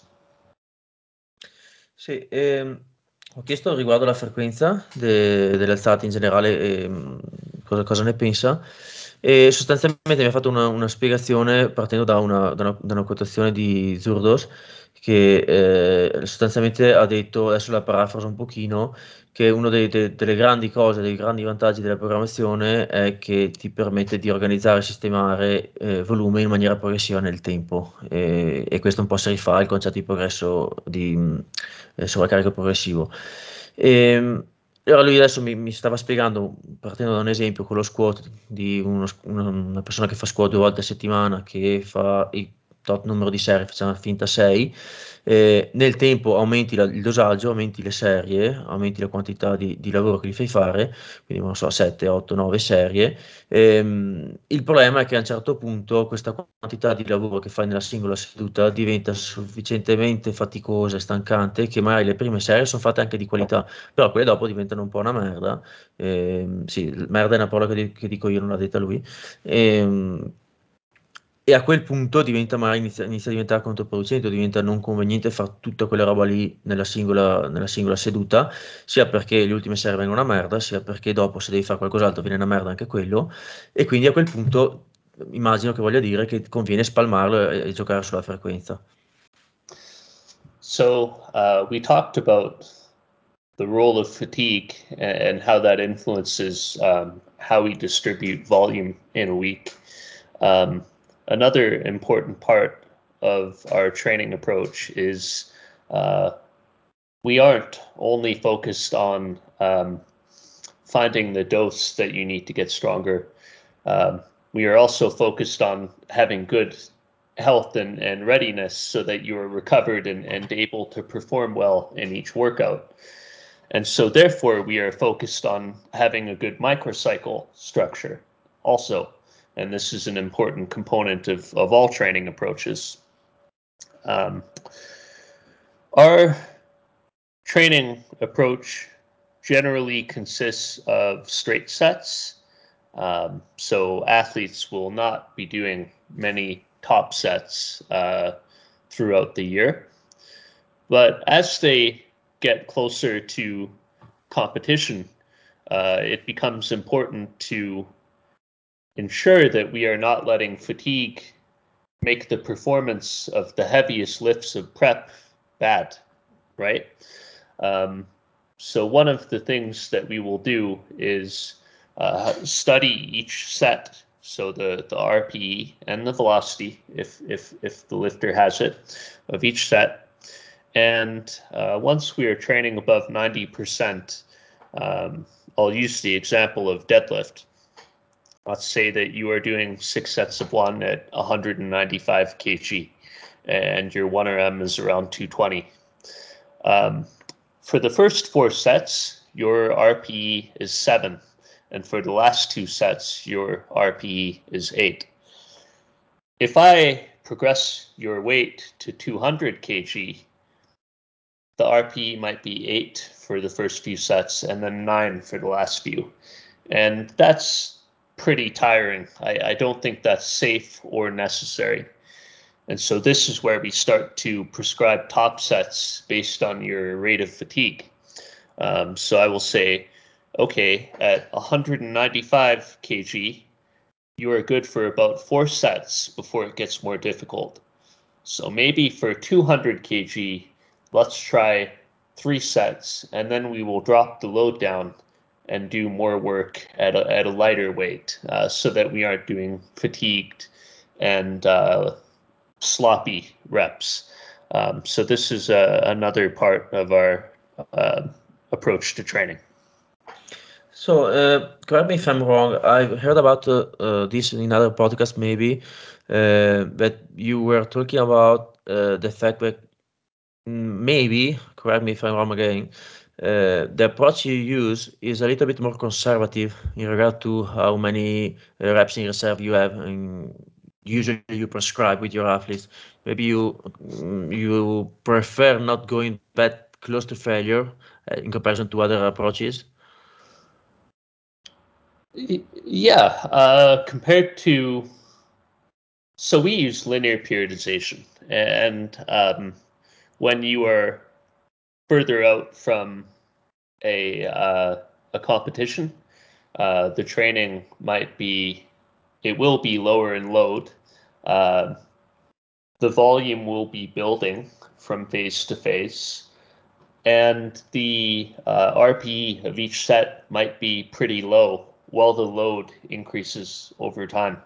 Sì, ho chiesto riguardo alla frequenza delle alzate in generale, cosa ne pensa, e sostanzialmente mi ha fatto una spiegazione partendo da una quotazione di Zurdos, che sostanzialmente ha detto, adesso la parafraso un pochino, che uno delle grandi cose, dei grandi vantaggi della programmazione è che ti permette di organizzare e sistemare volume in maniera progressiva nel tempo, e questo un po' si rifà al concetto di progresso di sovraccarico progressivo. Allora lui adesso mi stava spiegando, partendo da un esempio, con lo squat di una persona che fa squat 2 volte a settimana, che fa il tot numero di serie, facciamo finta 6, nel tempo aumenti il dosaggio, aumenti le serie, aumenti la quantità di lavoro che gli fai fare, quindi non so, 7, 8, 9 serie. Il problema è che a un certo punto questa quantità di lavoro che fai nella singola seduta diventa sufficientemente faticosa e stancante, che magari le prime serie sono fatte anche di qualità, però quelle dopo diventano un po' una merda. Sì, merda è una parola che dico io, non l'ha detta lui. Ehm, e a quel punto magari inizia a diventare controproducente, diventa non conveniente fare tutta quella roba lì nella singola seduta, sia perché le ultime serie vengono una merda, sia perché dopo, se devi fare qualcos'altro, viene una merda anche quello. E quindi a quel punto immagino che voglia dire che conviene spalmarlo e giocare sulla frequenza. So we talked about the role of fatigue and how that influences how we distribute volume in a week. Another important part of our training approach is we aren't only focused on finding the dose that you need to get stronger. We are also focused on having good health and readiness so that you are recovered and able to perform well in each workout. And so therefore we are focused on having a good microcycle structure also. And this is an important component of all training approaches. Our training approach generally consists of straight sets. So athletes will not be doing many top sets throughout the year. But as they get closer to competition, it becomes important to ensure that we are not letting fatigue make the performance of the heaviest lifts of prep bad, right? So one of the things that we will do is study each set, so the RPE and the velocity, if the lifter has it, of each set. And once we are training above 90%, I'll use the example of deadlift. let's say that you are doing 6 sets of one at 195 kg and your 1RM is around 220. For the first 4 sets, your RPE is 7. And for the last 2 sets, your RPE is 8. If I progress your weight to 200 kg, the RPE might be 8 for the first few sets and then 9 for the last few. And that's pretty tiring. I don't think that's safe or necessary. And so this is where we start to prescribe top sets based on your rate of fatigue. So I will say, okay, at 195 kg, you are good for about 4 sets before it gets more difficult. So maybe for 200 kg, let's try 3 sets, and then we will drop the load down and do more work at a lighter weight, so that we aren't doing fatigued and sloppy reps. So this is another part of our approach to training. So, correct me if I'm wrong. I've heard about this in other podcasts, maybe, that you were talking about the fact that maybe, correct me if I'm wrong again, the approach you use is a little bit more conservative in regard to how many reps in reserve you have and usually you prescribe with your athletes. Maybe you prefer not going that close to failure in comparison to other approaches. Yeah, compared to, so we use linear periodization, and when you are further out from a competition, the training it will be lower in load. The volume will be building from phase to phase, and the RPE of each set might be pretty low while the load increases over time.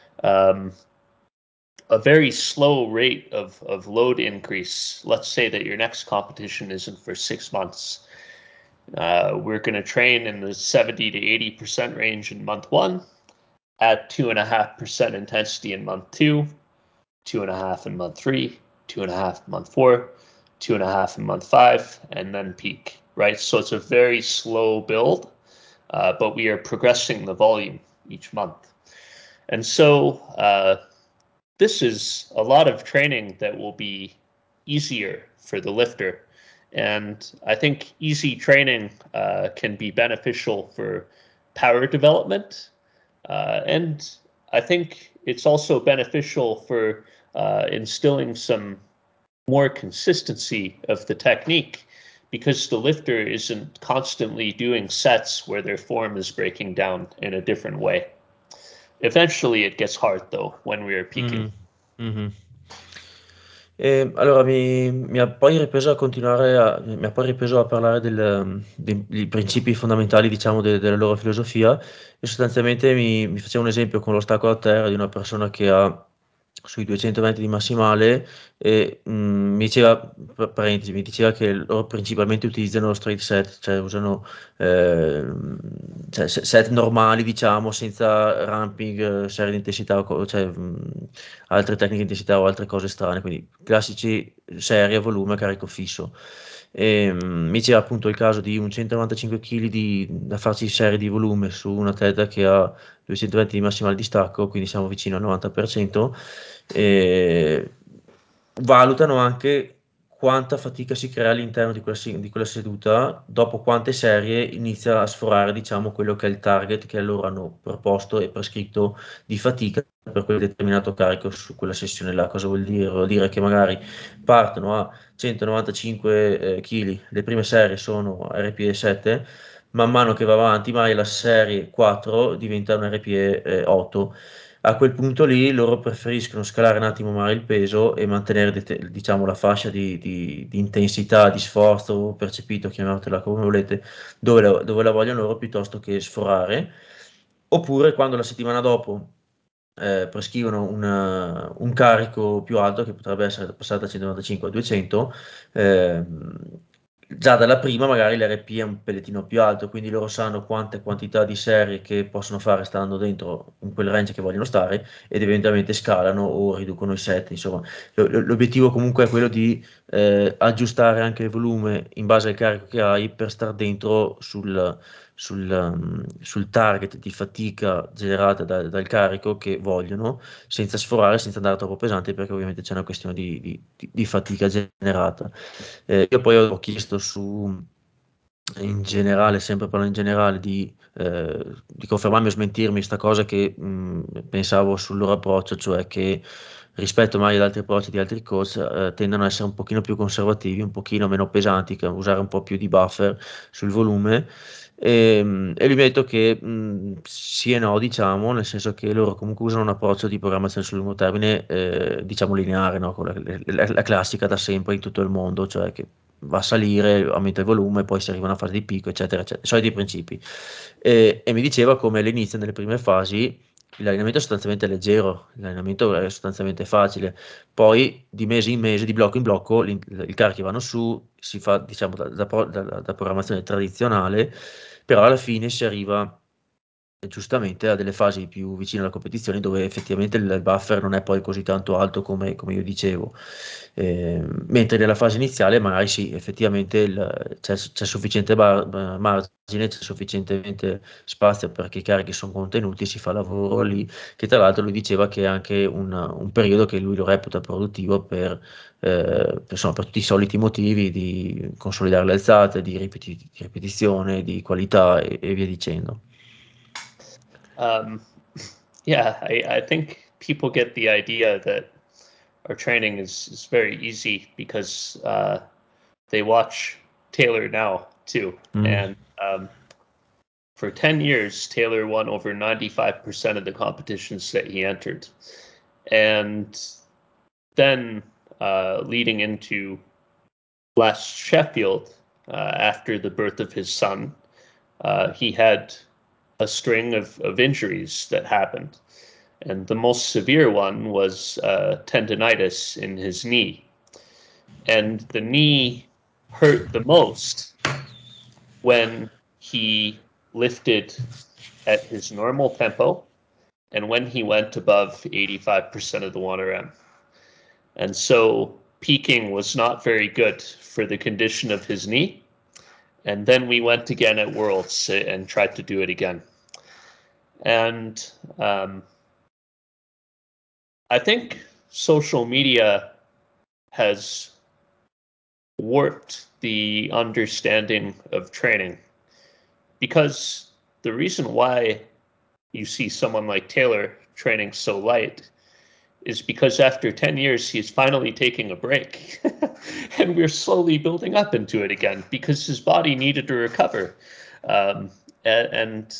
A very slow rate of load increase, let's say that your next competition isn't for 6 months. We're going to train in the 70 to 80% range in month 1, at 2.5% intensity in month 2, 2.5 in month 3, 2.5 in month 4, 2.5 in month 5, and then peak, right? So it's a very slow build, but we are progressing the volume each month. And so this is a lot of training that will be easier for the lifter. And I think easy training can be beneficial for power development. And I think it's also beneficial for instilling some more consistency of the technique, because the lifter isn't constantly doing sets where their form is breaking down in a different way. Eventually it gets hard though when we are peaking. Mm-hmm. Allora mi ha poi ripreso a mi ha poi ripreso a parlare dei principi fondamentali, diciamo, della loro filosofia e sostanzialmente mi faceva un esempio con lo stacco a terra di una persona che ha sui 200 metri di massimale e mi diceva, parentesi, mi diceva che loro principalmente utilizzano lo straight set, cioè usano cioè set normali, diciamo, senza ramping, serie di intensità, cioè altre tecniche di intensità o altre cose strane, quindi classici serie a volume a carico fisso. Mi diceva appunto il caso di un 195 kg da farci serie di volume su un atleta che ha 220 di massimale di stacco, quindi siamo vicino al 90%. E valutano anche quanta fatica si crea all'interno di quella seduta, dopo quante serie inizia a sforare, diciamo, quello che è il target che loro hanno proposto e prescritto di fatica per quel determinato carico su quella sessione là. Cosa vuol dire? Vuol dire che magari partono a 195 kg, le prime serie sono RPE 7, man mano che va avanti, magari la serie 4 diventa un RPE 8. A quel punto lì loro preferiscono scalare un attimo magari il peso e mantenere diciamo la fascia di intensità, di sforzo percepito, chiamatela come volete, dove la vogliono loro piuttosto che sforare. Oppure quando la settimana dopo prescrivono un carico più alto che potrebbe essere passato da 195 a 200, già dalla prima magari l'RP è un pellettino più alto, quindi loro sanno quante quantità di serie che possono fare stando dentro in quel range che vogliono stare ed eventualmente scalano o riducono i set. Insomma, l'obiettivo comunque è quello di aggiustare anche il volume in base al carico che hai per star dentro sul target di fatica generata dal carico che vogliono, senza sforare, senza andare troppo pesante, perché ovviamente c'è una questione di fatica generata. Io poi ho chiesto in generale, sempre parlando in generale, di confermarmi o smentirmi questa cosa che pensavo sul loro approccio, cioè che rispetto magari ad altri approcci di altri coach, tendono ad essere un pochino più conservativi, un pochino meno pesanti, usare un po' più di buffer sul volume. E lui mi ha detto che sì e no, diciamo, nel senso che loro comunque usano un approccio di programmazione sul lungo termine, diciamo lineare, no? Con la classica da sempre in tutto il mondo, cioè che va a salire, aumenta il volume, poi si arriva a una fase di picco, eccetera, eccetera, soliti principi. E mi diceva come all'inizio, nelle prime fasi, l'allenamento è sostanzialmente leggero, l'allenamento è sostanzialmente facile, poi di mese in mese, di blocco in blocco, i carichi vanno su, si fa diciamo da programmazione tradizionale, però alla fine si arriva giustamente a delle fasi più vicine alla competizione dove effettivamente il buffer non è poi così tanto alto come io dicevo. Mentre nella fase iniziale magari sì, effettivamente c'è sufficiente margine, c'è sufficientemente spazio perché i carichi sono contenuti, si fa lavoro lì, che tra l'altro lui diceva che è anche un periodo che lui lo reputa produttivo insomma, per tutti i soliti motivi di consolidare le alzate, di ripetizione, di qualità e via dicendo. Um, yeah, I think people get the idea that our training is very easy because they watch Taylor now too. Mm. And for 10 years, Taylor won over 95% of the competitions that he entered. And then leading into last Sheffield, after the birth of his son, he had a string of injuries that happened. And the most severe one was tendonitis in his knee. And the knee hurt the most when he lifted at his normal tempo and when he went above 85% of the 1RM. And so peaking was not very good for the condition of his knee. And then we went again at Worlds and tried to do it again. And I think social media has warped the understanding of training because the reason why you see someone like Taylor training so light is because after 10 years, he's finally taking a break. And we're slowly building up into it again because his body needed to recover. And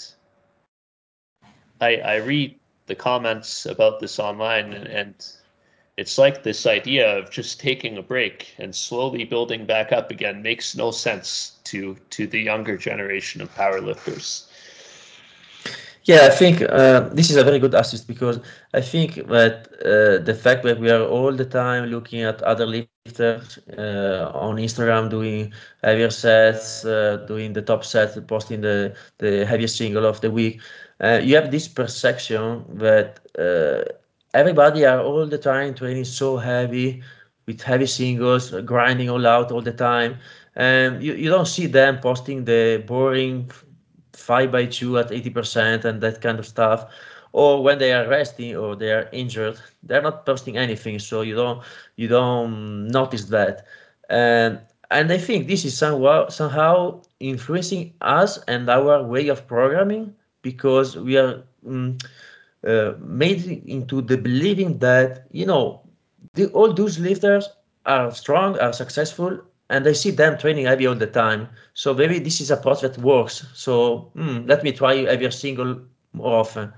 I read the comments about this online, and it's like this idea of just taking a break and slowly building back up again makes no sense to the younger generation of powerlifters. Yeah, I think this is a very good assist because I think that the fact that we are all the time looking at other lifters on Instagram doing heavier sets, doing the top sets, posting the heaviest single of the week, you have this perception that everybody are all the time training so heavy with heavy singles, grinding all out all the time. And you don't see them posting the boring 5x2 at 80% and that kind of stuff, or when they are resting or they are injured they're not posting anything, so you don't notice that. And I think this is somehow influencing us and our way of programming because we are made into the believing that all those lifters are strong, are successful, and I see them training heavy all the time. So maybe this is a approach that works. So let me try heavier single more often.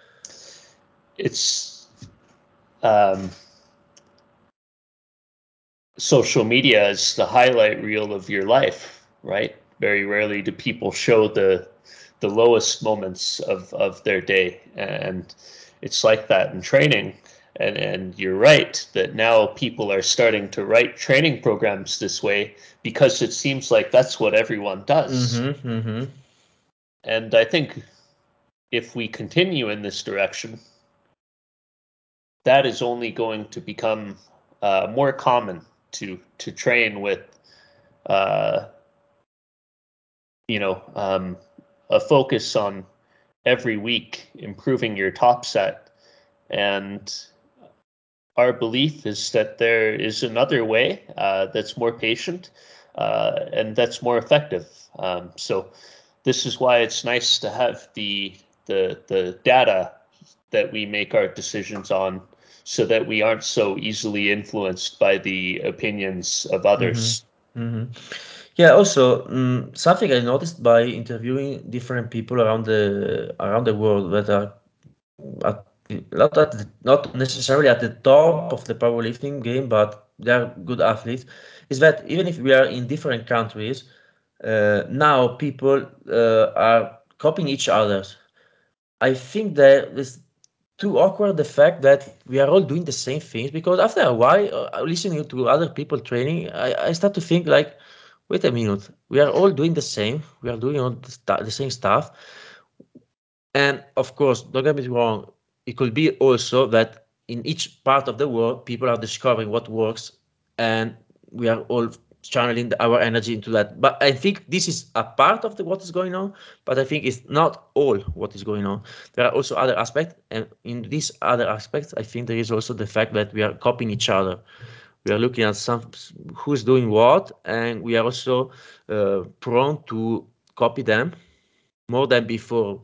It's social media is the highlight reel of your life, right? Very rarely do people show the lowest moments of their day, and it's like that in training. And you're right that now people are starting to write training programs this way because it seems like that's what everyone does. And I think if we continue in this direction, that is only going to become more common to train with, a focus on every week improving your top set. And our belief is that there is another way that's more patient and that's more effective. So this is why it's nice to have the data that we make our decisions on, so that we aren't so easily influenced by the opinions of others. Yeah, also something I noticed by interviewing different people around the world that are not necessarily at the top of the powerlifting game, but they are good athletes, is that even if we are in different countries, now people are copying each other. I think that it's too awkward the fact that we are all doing the same things, because after a while, listening to other people training, I start to think like, wait a minute, we are all doing the same. We are doing all the same stuff. And of course, don't get me wrong, it could be also that in each part of the world, people are discovering what works, and we are all channeling our energy into that. But I think this is a part of what is going on, but I think it's not all what is going on. There are also other aspects, and in these other aspects, I think there is also the fact that we are copying each other. We are looking at who's doing what, and we are also prone to copy them more than before.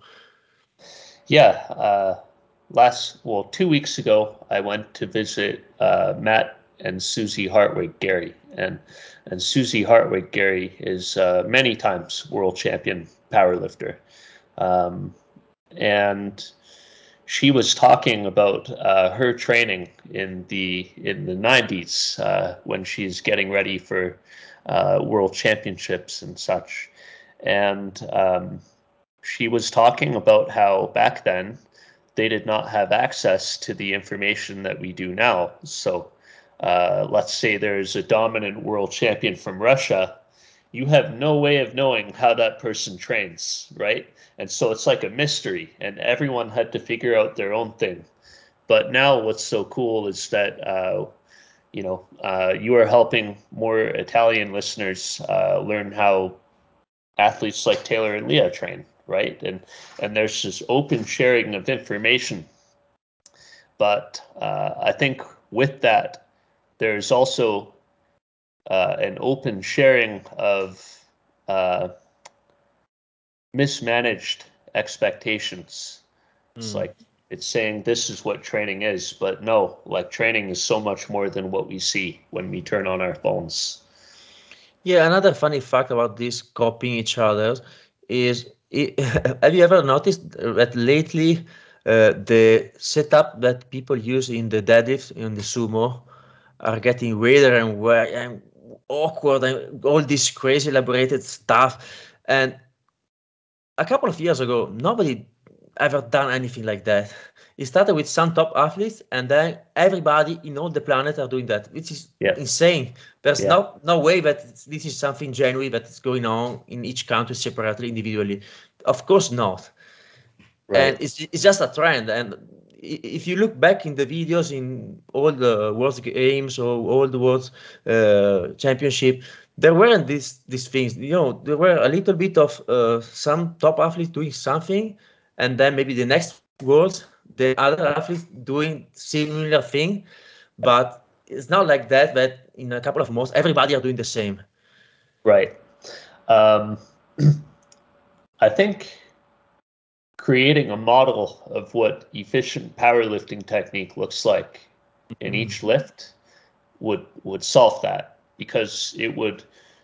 Yeah. 2 weeks ago, I went to visit Matt and Susie Hartwig Gary, and Susie Hartwig Gary is many times world champion powerlifter, and she was talking about her training in the 90s when she's getting ready for world championships and such, and she was talking about how back then they did not have access to the information that we do now. So let's say there's a dominant world champion from Russia. You have no way of knowing how that person trains, right? And so it's like a mystery, and everyone had to figure out their own thing. But now what's so cool is that you are helping more Italian listeners learn how athletes like Taylor and Leah train, right? And there's this open sharing of information. But I think with that, there's also an open sharing of uh, mismanaged expectations. It's like it's saying this is what training is, but no, like training is so much more than what we see when we turn on our phones. Yeah, another funny fact about this copying each other is, have you ever noticed that lately the setup that people use in the deadlift, in the sumo, are getting weirder and weird and awkward and all this crazy elaborated stuff. And a couple of years ago, nobody ever done anything like that. It started with some top athletes, and then everybody in all the planet are doing that, which is Yeah, insane. There's yeah, no way that this is something genuine that is going on in each country separately, individually. Of course not. And right, it's just a trend. And if you look back in the videos in all the world games or all the world championship, there weren't these things. There were a little bit of some top athletes doing something, and then maybe the next world, the other athletes doing similar thing. But it's not like that, that in a couple of months everybody are doing the same. right. Um, I think creating a model of what efficient powerlifting technique looks like in each lift would solve that, because it would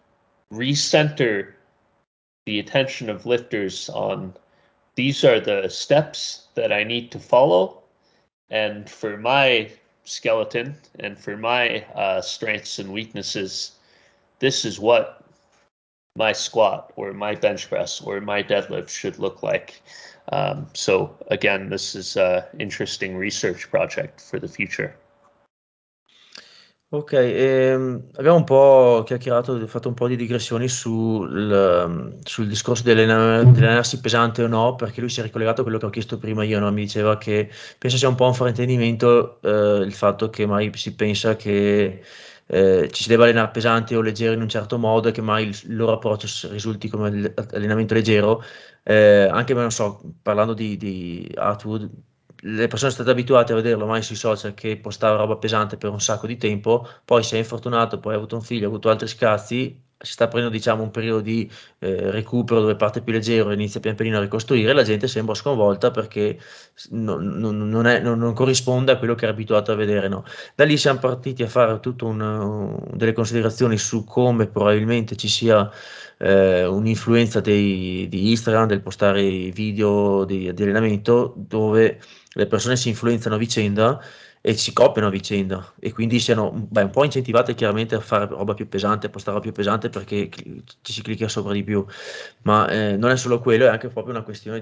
recenter the attention of lifters on these are the steps that I need to follow, and for my skeleton and for my strengths and weaknesses, this is what my squat or my bench press or my deadlift should look like. So again, this is an interesting research project for the future. Ok, abbiamo un po' chiacchierato, fatto un po' di digressioni sul discorso dell'allenarsi pesante o no, perché lui si è ricollegato a quello che ho chiesto prima io, no? Mi diceva che penso sia un po' un fraintendimento il fatto che mai si pensa che ci si debba allenare pesante o leggero in un certo modo e che mai il loro approccio risulti come allenamento leggero. Anche, non so, parlando di Atwood, le persone sono state abituate a vederlo mai sui social che postava roba pesante per un sacco di tempo, poi si è infortunato, poi ha avuto un figlio, ha avuto altri scazzi, si sta prendendo diciamo un periodo di recupero dove parte più leggero e inizia pian pianino a ricostruire, e la gente sembra sconvolta perché non corrisponde a quello che era abituato a vedere, no? Da lì siamo partiti a fare tutte delle considerazioni su come probabilmente ci sia un'influenza di Instagram, del postare video di allenamento, dove le persone si influenzano a vicenda e si copiano a vicenda e quindi siano un po' incentivate chiaramente a fare roba più pesante, a postare roba più pesante perché ci si clicca sopra di più, ma non è solo quello, è anche proprio una questione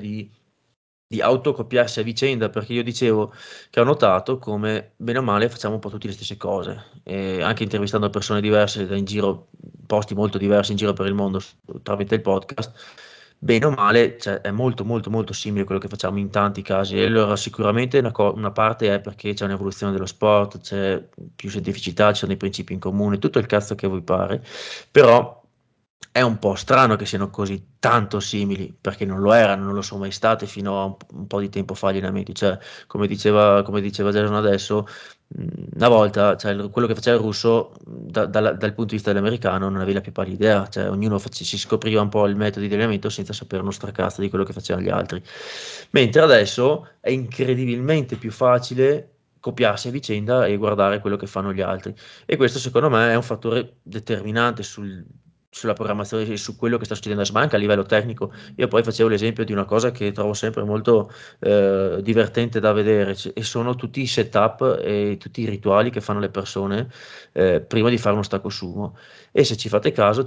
di autocopiarsi a vicenda, perché io dicevo che ho notato come bene o male facciamo un po' tutte le stesse cose, e anche intervistando persone diverse da in giro, posti molto diversi in giro per il mondo tramite il podcast, bene o male, cioè, è molto molto molto simile a quello che facciamo in tanti casi. E allora sicuramente una parte è perché c'è un'evoluzione dello sport, c'è più scientificità, ci sono dei principi in comune, tutto il cazzo che vi pare, però è un po' strano che siano così tanto simili, perché non lo erano, non lo sono mai state fino a un po' di tempo fa gli allenamenti. Cioè, come diceva Jason adesso, una volta, cioè, quello che faceva il russo, dal punto di vista dell'americano, non aveva la più pallida idea. Cioè, ognuno si scopriva un po' il metodo di allenamento senza sapere uno stracazzo di quello che facevano gli altri. Mentre adesso è incredibilmente più facile copiarsi a vicenda e guardare quello che fanno gli altri. E questo secondo me è un fattore determinante sulla programmazione e su quello che sta succedendo adesso, ma anche a livello tecnico. Io poi facevo l'esempio di una cosa che trovo sempre molto divertente da vedere, e sono tutti i setup e tutti i rituali che fanno le persone prima di fare uno stacco sumo. E se ci fate caso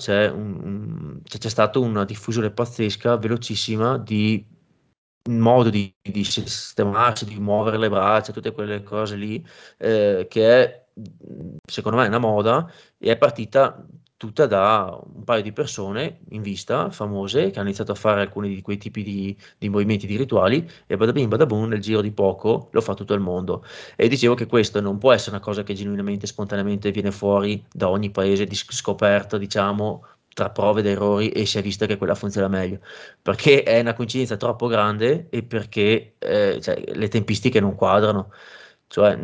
c'è stata una diffusione pazzesca, velocissima, di un modo di sistemarsi, di muovere le braccia, tutte quelle cose lì, che è, secondo me, è una moda e è partita tutta da un paio di persone in vista, famose, che hanno iniziato a fare alcuni di quei tipi di movimenti, di rituali, e bada bing, bada boom, nel giro di poco lo fa tutto il mondo. E dicevo che questo non può essere una cosa che genuinamente, spontaneamente viene fuori da ogni paese di scoperta, diciamo, tra prove ed errori, e si è vista che quella funziona meglio perché è una coincidenza troppo grande e perché cioè, le tempistiche non quadrano, cioè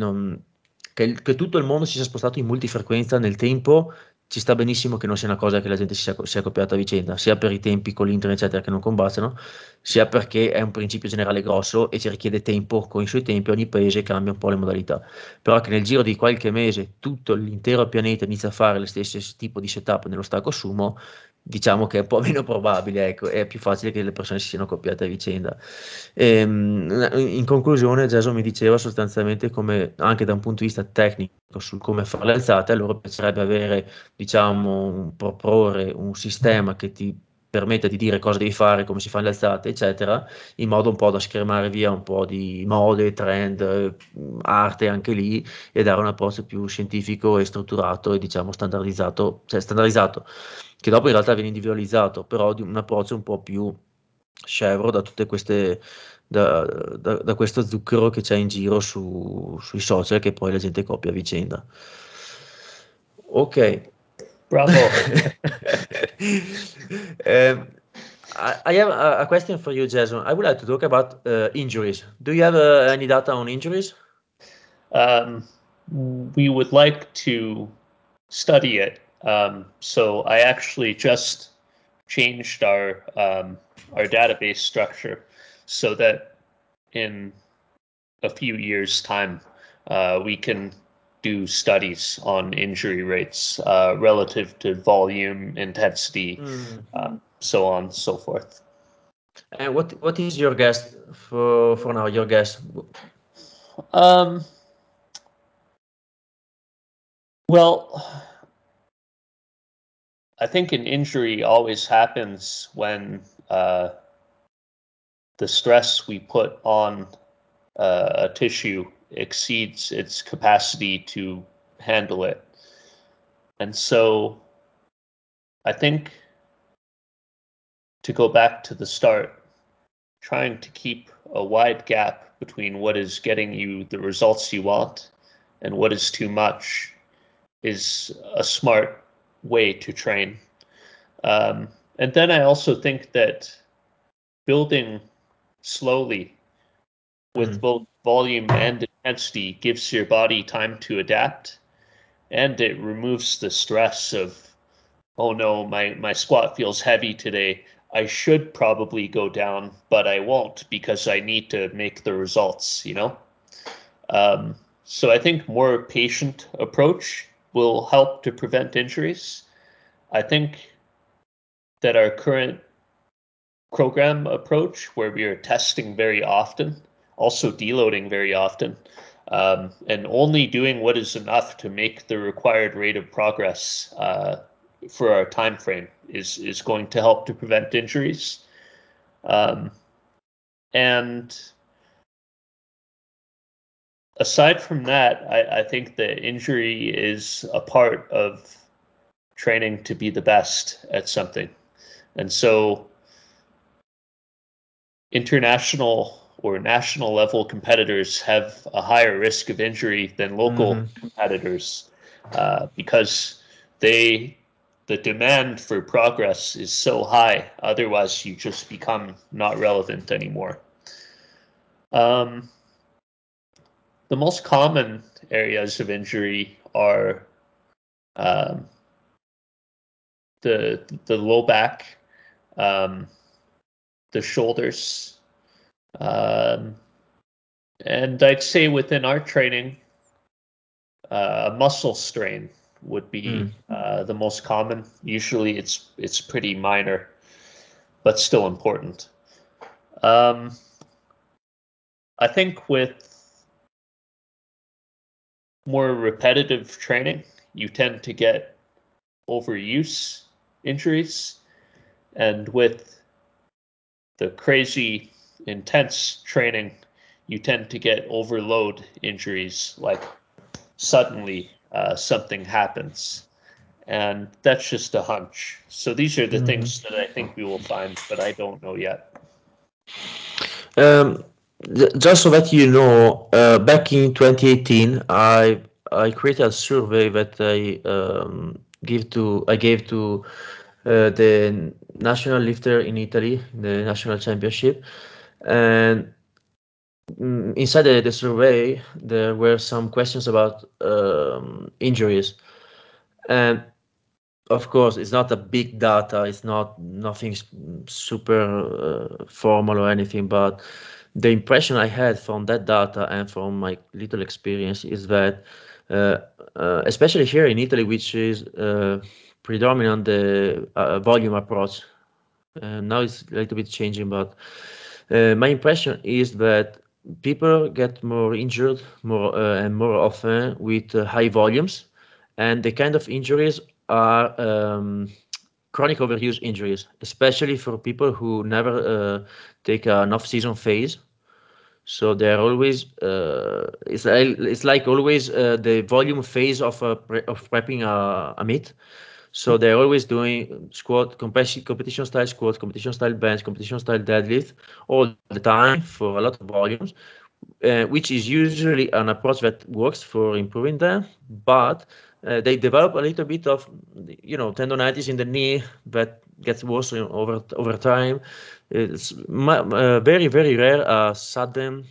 che tutto il mondo si sia spostato in multifrequenza nel tempo. Ci sta benissimo che non sia una cosa che la gente si sia copiata a vicenda, sia per i tempi con l'internet, eccetera, che non combaciano, sia perché è un principio generale grosso e ci richiede tempo con i suoi tempi, ogni paese cambia un po' le modalità. Però che nel giro di qualche mese tutto l'intero pianeta inizia a fare lo stesso tipo di setup nello stacco sumo, diciamo che è un po' meno probabile, ecco, è più facile che le persone si siano copiate a vicenda. In conclusione, Jason mi diceva sostanzialmente come, anche da un punto di vista tecnico, sul come fare le alzate, a loro piacerebbe avere, diciamo, proporre un sistema che ti permetta di dire cosa devi fare, come si fanno le alzate, eccetera, in modo un po' da schermare via un po' di mode, trend, arte anche lì, e dare un approccio più scientifico e strutturato e diciamo standardizzato, cioè standardizzato, che dopo in realtà viene individualizzato, però di un approccio un po' più scevro da tutte queste, da questo zucchero che c'è in giro sui social che poi la gente copia a vicenda. Ok. Bravo. Um, I have a question for you, Jason. I would like to talk about injuries. Do you have any data on injuries? Um, we would like to study it. So I actually just changed our database structure so that in a few years' time we can do studies on injury rates relative to volume, intensity, Mm. so on and so forth. And what is your guess for now? Your guess? Um, well, I think an injury always happens when the stress we put on a tissue exceeds its capacity to handle it. And so I think, to go back to the start, trying to keep a wide gap between what is getting you the results you want and what is too much is a smart way to train. And then I also think that building slowly with both volume and intensity gives your body time to adapt, and it removes the stress of, oh no, my squat feels heavy today. I should probably go down, but I won't because I need to make the results, you know? So I think more patient approach will help to prevent injuries. I think that our current program approach, where we are testing very often, also deloading very often, and only doing what is enough to make the required rate of progress for our time frame is going to help to prevent injuries. And aside from that, I think the injury is a part of training to be the best at something. And so international or national level competitors have a higher risk of injury than local competitors because the demand for progress is so high. Otherwise, you just become not relevant anymore. The most common areas of injury are the low back, the shoulders, and I'd say within our training, a muscle strain would be the most common. Usually, it's pretty minor, but still important. I think with more repetitive training, you tend to get overuse injuries, and with the crazy intense training, you tend to get overload injuries, like suddenly something happens. And that's just a hunch. So these are the things that I think we will find, but I don't know yet. Just so that you know, back in 2018, I created a survey that I gave to the national lifter in Italy, the national championship, and inside the survey there were some questions about injuries, and of course it's not a big data, it's not nothing super formal or anything, but the impression I had from that data and from my little experience is that especially here in Italy, which is predominant the volume approach, now it's a little bit changing, but my impression is that people get more injured more and more often with high volumes, and the kind of injuries are chronic overuse injuries, especially for people who never take an off-season phase. So they're always it's like always the volume phase of of prepping a meet. So they're always doing squat, competition style squat, competition style bench, competition style deadlift all the time for a lot of volumes, which is usually an approach that works for improving them, but they develop a little bit of, tendonitis in the knee that gets worse over time. It's very, very rare sudden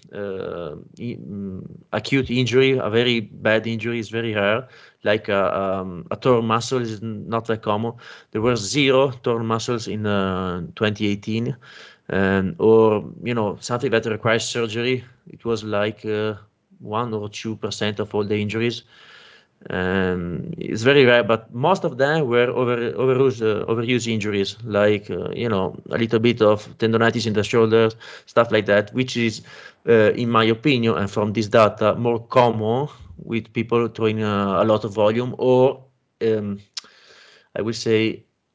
acute injury. A very bad injury is very rare, like a torn muscle is not that common. There were zero torn muscles in 2018, or something that requires surgery. It was like 1 or 2% of all the injuries. It's very rare, but most of them were overuse injuries, like a little bit of tendonitis in the shoulders, stuff like that, which is, in my opinion, and from this data, more common with people throwing a lot of volume, or I would say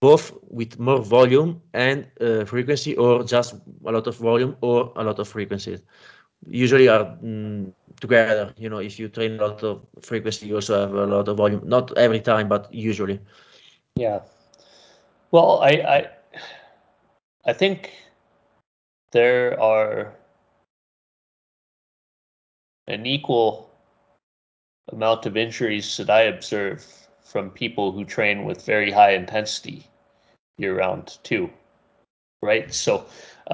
both with more volume and frequency, or just a lot of volume or a lot of frequency. Usually are together. If you train a lot of frequency, you also have a lot of volume. Not every time, but usually. Yeah. Well, I think there are an equal amount of injuries that I observe from people who train with very high intensity year round too, right? So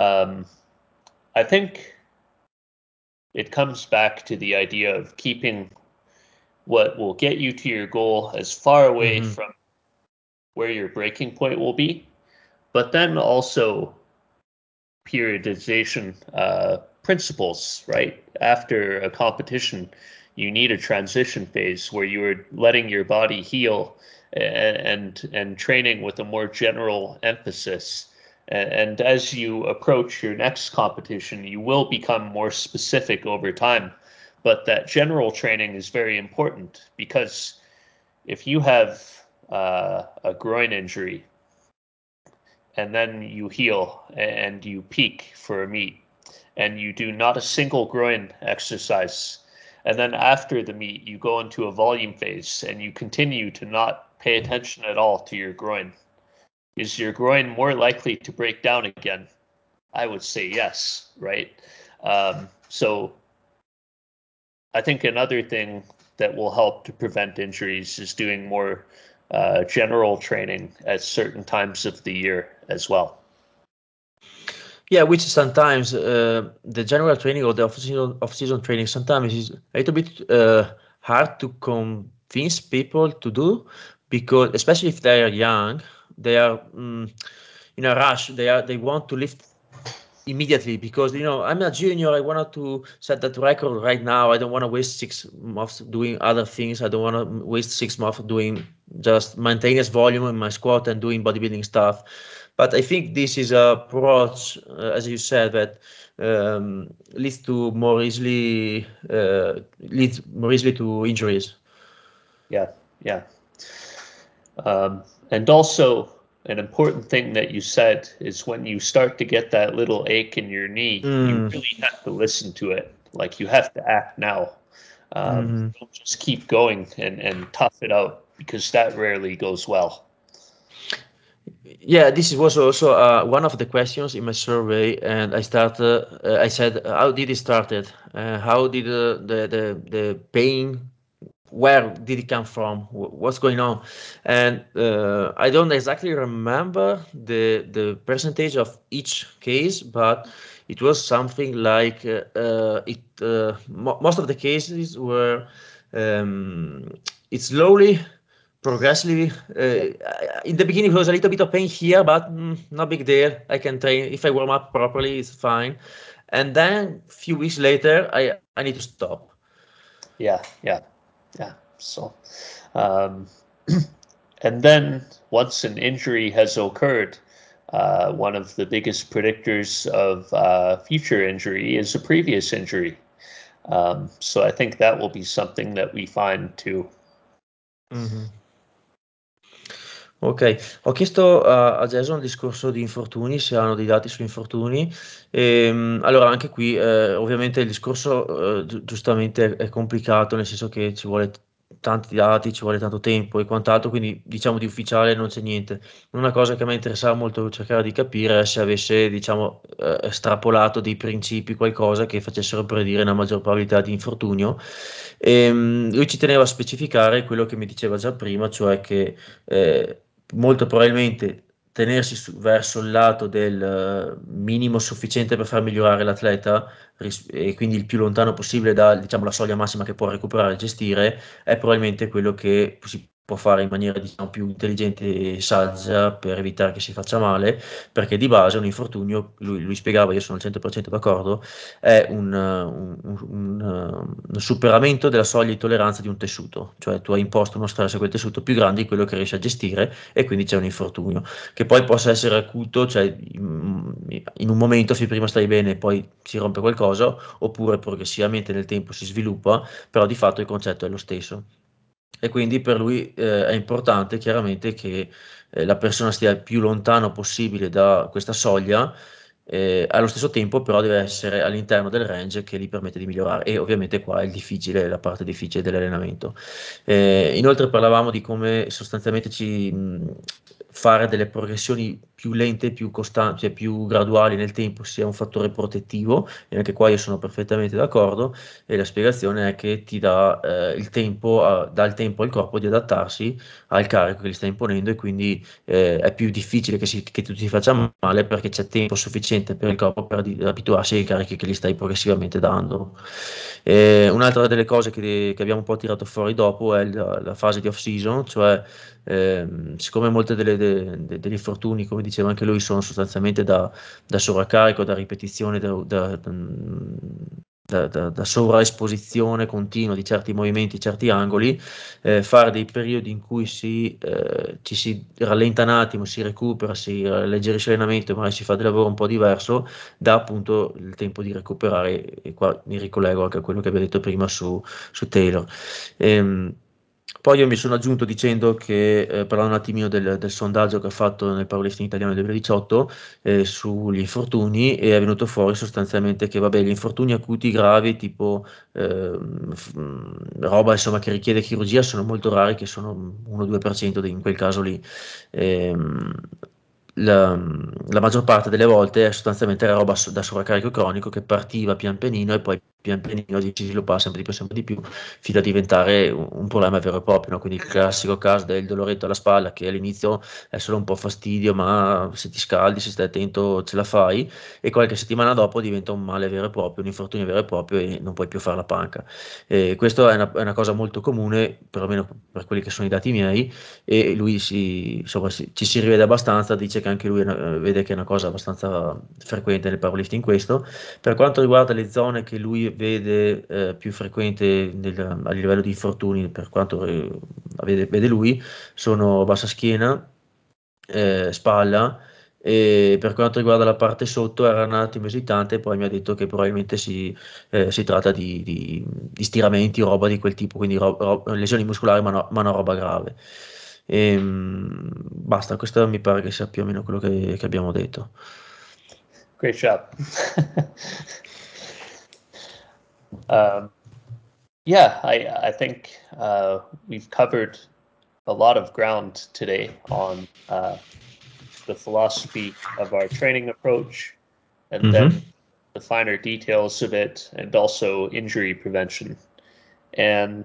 I think it comes back to the idea of keeping what will get you to your goal as far away from where your breaking point will be, but then also periodization principles, right? After a competition, you need a transition phase where you are letting your body heal and training with a more general emphasis. And as you approach your next competition, you will become more specific over time. But that general training is very important because if you have a groin injury and then you heal and you peak for a meet and you do not a single groin exercise, and then after the meet you go into a volume phase and you continue to not pay attention at all to your groin, is your groin more likely to break down again? I would say yes, right? So I think another thing that will help to prevent injuries is doing more general training at certain times of the year as well. Yeah, which sometimes the general training or the off-season training sometimes is a little bit hard to convince people to do, because especially if they are young, they are in a rush. They want to lift immediately, because I'm a junior. I wanted to set that record right now. I don't want to waste 6 months doing other things. I don't want to waste 6 months doing just maintenance volume in my squat and doing bodybuilding stuff. But I think this is a approach, as you said, that leads more easily to injuries. Yeah, yeah. And also, an important thing that you said is when you start to get that little ache in your knee, you really have to listen to it. Like you have to act now. Don't just keep going and tough it out, because that rarely goes well. Yeah, this was also one of the questions in my survey, and I said, how did it started? How did the pain? Where did it come from? What's going on? And I don't exactly remember the percentage of each case, but it was something like most of the cases were it slowly, progressively. In the beginning, it was a little bit of pain here, but no big deal. I can train if I warm up properly. It's fine. And then a few weeks later, I need to stop. Yeah, yeah, yeah. So, um, and then once an injury has occurred, one of the biggest predictors of future injury is a previous injury. So I think that will be something that we find too. Mhm. Ok, ho chiesto a Jason il discorso di infortuni, se hanno dei dati su infortuni. Allora, anche qui, ovviamente il discorso giustamente è complicato, nel senso che ci vuole tanti dati, ci vuole tanto tempo e quant'altro, quindi diciamo di ufficiale non c'è niente. Una cosa che a me interessava molto cercare di capire è se avesse, diciamo, estrapolato dei principi, qualcosa che facessero predire una maggior probabilità di infortunio. Lui ci teneva a specificare quello che mi diceva già prima, cioè che molto probabilmente tenersi verso il lato del minimo sufficiente per far migliorare l'atleta, e quindi il più lontano possibile da, diciamo, la soglia massima che può recuperare e gestire, è probabilmente quello che si può fare in maniera, diciamo, più intelligente e saggia per evitare che si faccia male, perché di base un infortunio, lui spiegava, io sono al 100% d'accordo, è un superamento della soglia di tolleranza di un tessuto, cioè tu hai imposto uno stress a quel tessuto più grande di quello che riesci a gestire, e quindi c'è un infortunio che poi possa essere acuto, cioè in un momento se prima stai bene e poi si rompe qualcosa, oppure progressivamente nel tempo si sviluppa, però di fatto il concetto è lo stesso. e quindi per lui è importante chiaramente che la persona stia il più lontano possibile da questa soglia, allo stesso tempo però deve essere all'interno del range che gli permette di migliorare e ovviamente qua è il difficile, la parte difficile dell'allenamento. Inoltre parlavamo di come sostanzialmente fare delle progressioni più lente, più costanti, cioè più graduali nel tempo sia un fattore protettivo e anche qua io sono perfettamente d'accordo e la spiegazione è che ti dà il tempo, dà il tempo al corpo di adattarsi al carico che gli stai imponendo e quindi è più difficile che tu ti faccia male perché c'è tempo sufficiente per il corpo per abituarsi ai carichi che gli stai progressivamente dando. Un'altra delle cose che abbiamo un po' tirato fuori dopo è la fase di off-season, cioè siccome molte degli infortuni, come diceva anche lui, sono sostanzialmente da sovraccarico, da ripetizione, da sovraesposizione continua di certi movimenti, certi angoli, fare dei periodi in cui ci si rallenta un attimo, si recupera, si alleggerisce l'allenamento, magari si fa del lavoro un po' diverso, dà appunto il tempo di recuperare, e qua mi ricollego anche a quello che abbiamo detto prima su Taylor. Poi io mi sono aggiunto dicendo che, parlando un attimino del sondaggio che ha fatto nel Powerlifting Italiano del 2018 sugli infortuni, e è venuto fuori sostanzialmente che vabbè, gli infortuni acuti gravi, tipo roba insomma, che richiede chirurgia, sono molto rari, che sono 1-2% in quel caso lì. Ehm, la maggior parte delle volte è sostanzialmente roba da sovraccarico cronico che partiva pian pianino e poi pian pianino si sviluppava sempre di più fino a diventare un problema vero e proprio, no? Quindi il classico caso del doloretto alla spalla che all'inizio è solo un po' fastidio, ma se ti scaldi, se stai attento, ce la fai, e qualche settimana dopo diventa un male vero e proprio, un infortunio vero e proprio e non puoi più fare la panca. Questo è una cosa molto comune, perlomeno per quelli che sono i dati miei, e lui insomma, ci si rivede abbastanza, dice che anche lui vede che è una cosa abbastanza frequente nel powerlifting questo. Per quanto riguarda le zone che lui vede più frequente a livello di infortuni, per quanto vede lui, sono bassa schiena, spalla, e per quanto riguarda la parte sotto era un attimo esitante, poi mi ha detto che probabilmente si tratta di stiramenti o roba di quel tipo, quindi lesioni muscolari, ma no roba grave. Basta, questo mi pare che sia più o meno quello che abbiamo detto. Great job. um, yeah, I think we've covered a lot of ground today on the philosophy of our training approach, and Mhm. then the finer details of it, and also injury prevention. And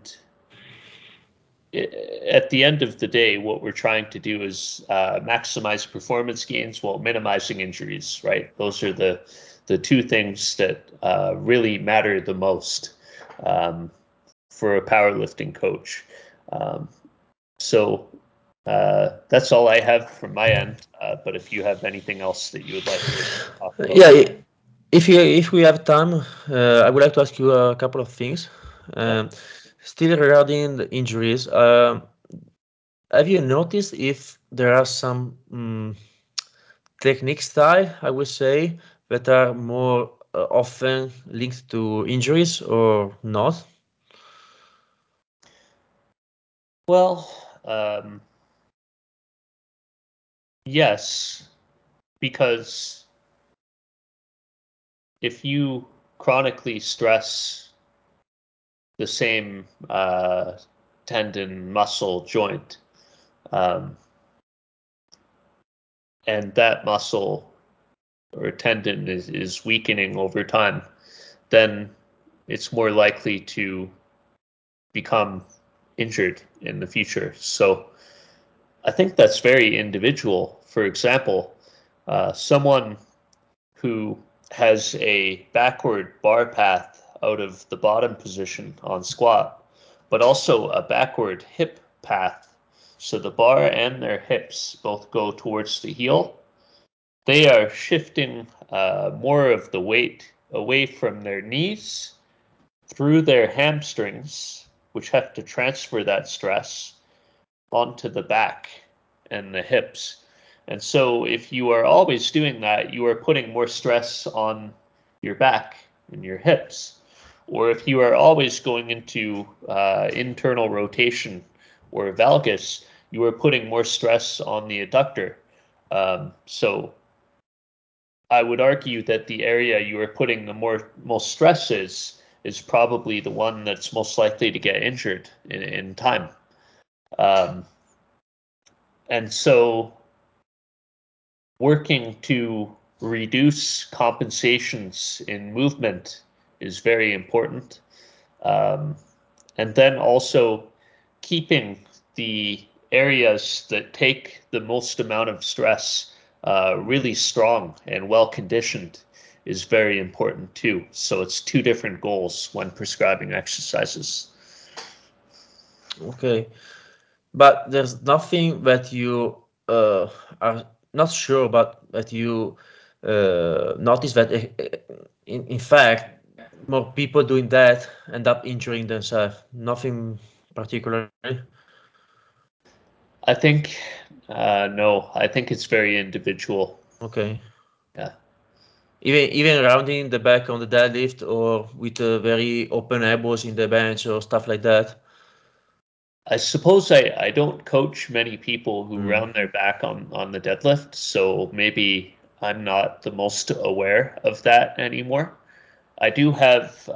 at the end of the day, what we're trying to do is maximize performance gains while minimizing injuries. Right? Those are the two things that really matter the most um, for a powerlifting coach. Um, so that's all I have from my end. But if you have anything else that you would like to talk about, Yeah, if we have time, I would like to ask you a couple of things. yeah. Still regarding the injuries, have you noticed if there are some technique style, I would say, that are more often linked to injuries or not? Well, um, yes, because if you chronically stress the same tendon, muscle, joint, um, and that muscle or tendon is weakening over time, then it's more likely to become injured in the future. So I think that's very individual. For example, someone who has a backward bar path out of the bottom position on squat, but also a backward hip path. So the bar and their hips both go towards the heel. They are shifting more of the weight away from their knees through their hamstrings, which have to transfer that stress onto the back and the hips. And so if you are always doing that, you are putting more stress on your back and your hips. Or if you are always going into internal rotation or valgus, you are putting more stress on the adductor. So I would argue that the area you are putting the most stress is probably the one that's most likely to get injured in time. And so working to reduce compensations in movement is very important. And then also keeping the areas that take the most amount of stress really strong and well conditioned is very important too. So it's two different goals when prescribing exercises. Okay, but there's nothing that you are not sure, but that you notice that in fact more people doing that end up injuring themselves. Nothing particularly. I think no, I think it's very individual. Okay. Yeah. Even rounding the back on the deadlift or with very open elbows in the bench or stuff like that. I suppose I don't coach many people who Mm. round their back on the deadlift, so maybe I'm not the most aware of that anymore. I do have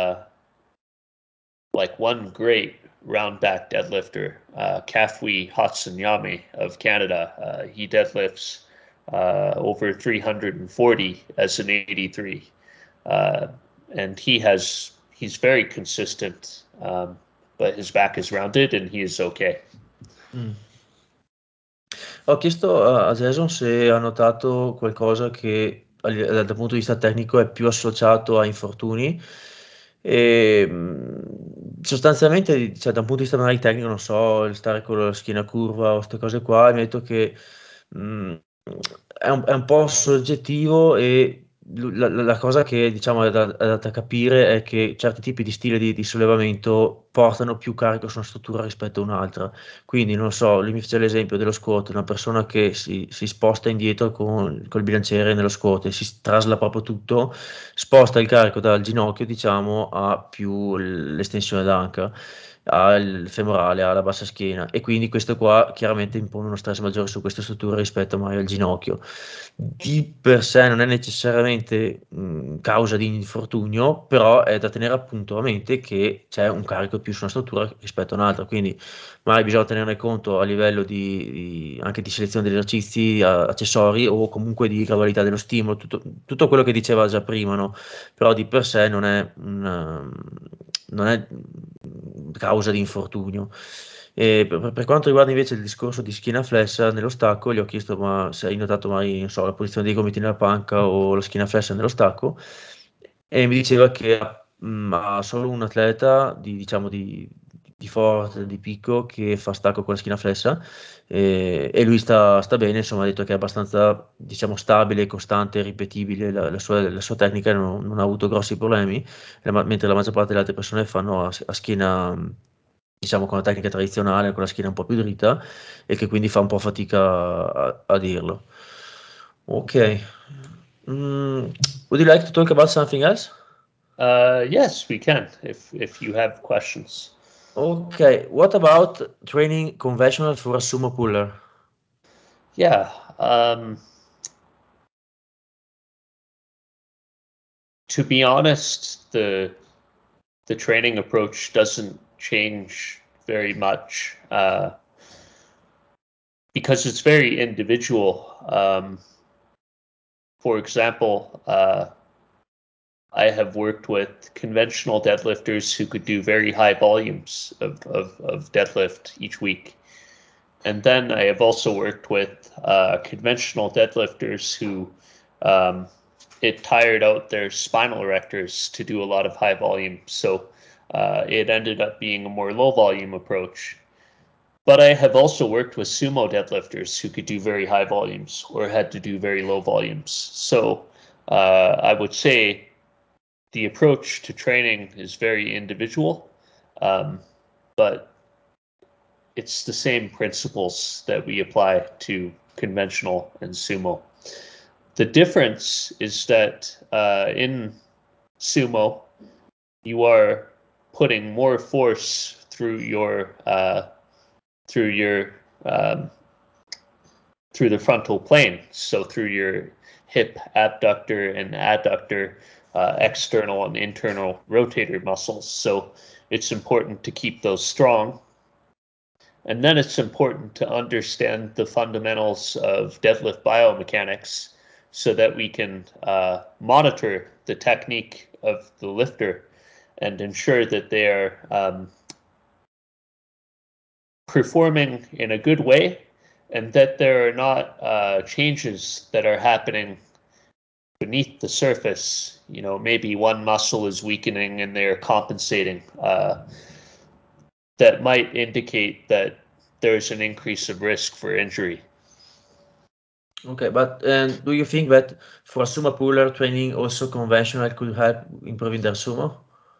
like one great round back deadlifter, Kafui Hatsuyama of Canada. He deadlifts over 340 as an 83. Uh, and he's very consistent, but his back is rounded and he is okay. Mm. Ho chiesto a Jason se ha notato qualcosa che dal punto di vista tecnico è più associato a infortuni. E, sostanzialmente, cioè, da un punto di vista magari tecnico, non so, il stare con la schiena curva o queste cose qua, mi ha detto che mh, è un po' soggettivo e la cosa che diciamo è da capire è che certi tipi di stile di sollevamento portano più carico su una struttura rispetto a un'altra. Quindi non so, lui mi fece l'esempio dello squat, una persona che si sposta indietro con col bilanciere nello squat e si trasla proprio tutto, sposta il carico dal ginocchio, diciamo, a più l'estensione d'anca, al femorale, alla bassa schiena e quindi questo qua chiaramente impone uno stress maggiore su queste strutture rispetto magari al ginocchio. Di per sé non è necessariamente causa di infortunio, però è da tenere appunto a mente che c'è un carico più su una struttura rispetto a un'altra, quindi magari bisogna tenerne conto a livello anche di selezione degli esercizi, accessori o comunque di gradualità dello stimolo, tutto quello che diceva già prima, no? Però di per sé non è causa di infortunio. E per quanto riguarda invece il discorso di schiena flessa nello stacco, gli ho chiesto ma se hai notato mai, non so, la posizione dei gomiti nella panca o la schiena flessa nello stacco e mi diceva che ha solo un atleta diciamo, di forte, di picco che fa stacco con la schiena flessa e lui sta bene, insomma ha detto che è abbastanza diciamo, stabile, costante, ripetibile la sua tecnica, non ha avuto grossi problemi, mentre la maggior parte delle altre persone fanno a schiena diciamo con la tecnica tradizionale, con la schiena un po' più dritta e che quindi fa un po' fatica a dirlo. Ok. Would you like to talk about something else? Yes, we can if you have questions. Okay. What about training conventional for a sumo puller? Yeah. To be honest, the training approach doesn't change very much because it's very individual. For example, I have worked with conventional deadlifters who could do very high volumes of deadlift each week. And then I have also worked with conventional deadlifters who um, it tired out their spinal erectors to do a lot of high volume. So it ended up being a more low volume approach. But I have also worked with sumo deadlifters who could do very high volumes or had to do very low volumes. So I would say the approach to training is very individual, but it's the same principles that we apply to conventional and sumo. The difference is that in sumo, you are putting more force through your through your through the frontal plane, so through your hip abductor and adductor, external and internal rotator muscles. So it's important to keep those strong. And then it's important to understand the fundamentals of deadlift biomechanics so that we can monitor the technique of the lifter and ensure that they are performing in a good way and that there are not changes that are happening beneath the surface. You know, maybe one muscle is weakening and they're compensating. That might indicate that there's an increase of risk for injury. Okay, but do you think that for a sumo puller training also conventional could help improving their sumo?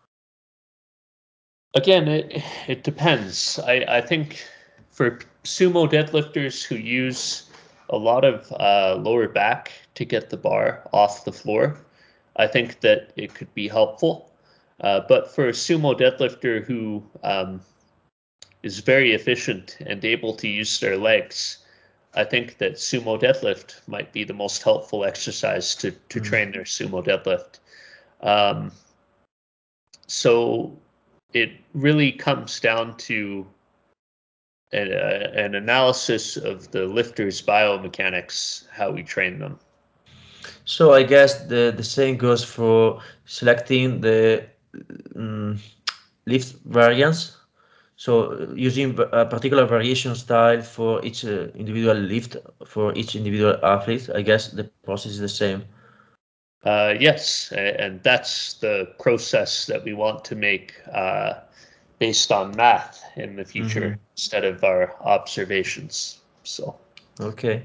Again, it depends. I think for sumo deadlifters who use a lot of lower back to get the bar off the floor, I think that it could be helpful. But for a sumo deadlifter who is very efficient and able to use their legs, I think that sumo deadlift might be the most helpful exercise to train their sumo deadlift. So it really comes down to an analysis of the lifter's biomechanics, how we train them. So I guess the same goes for selecting the lift variants. So using a particular variation style for each individual lift for each individual athlete, I guess the process is the same. Yes, and that's the process that we want to make based on math in the future instead of our observations. So. Ok.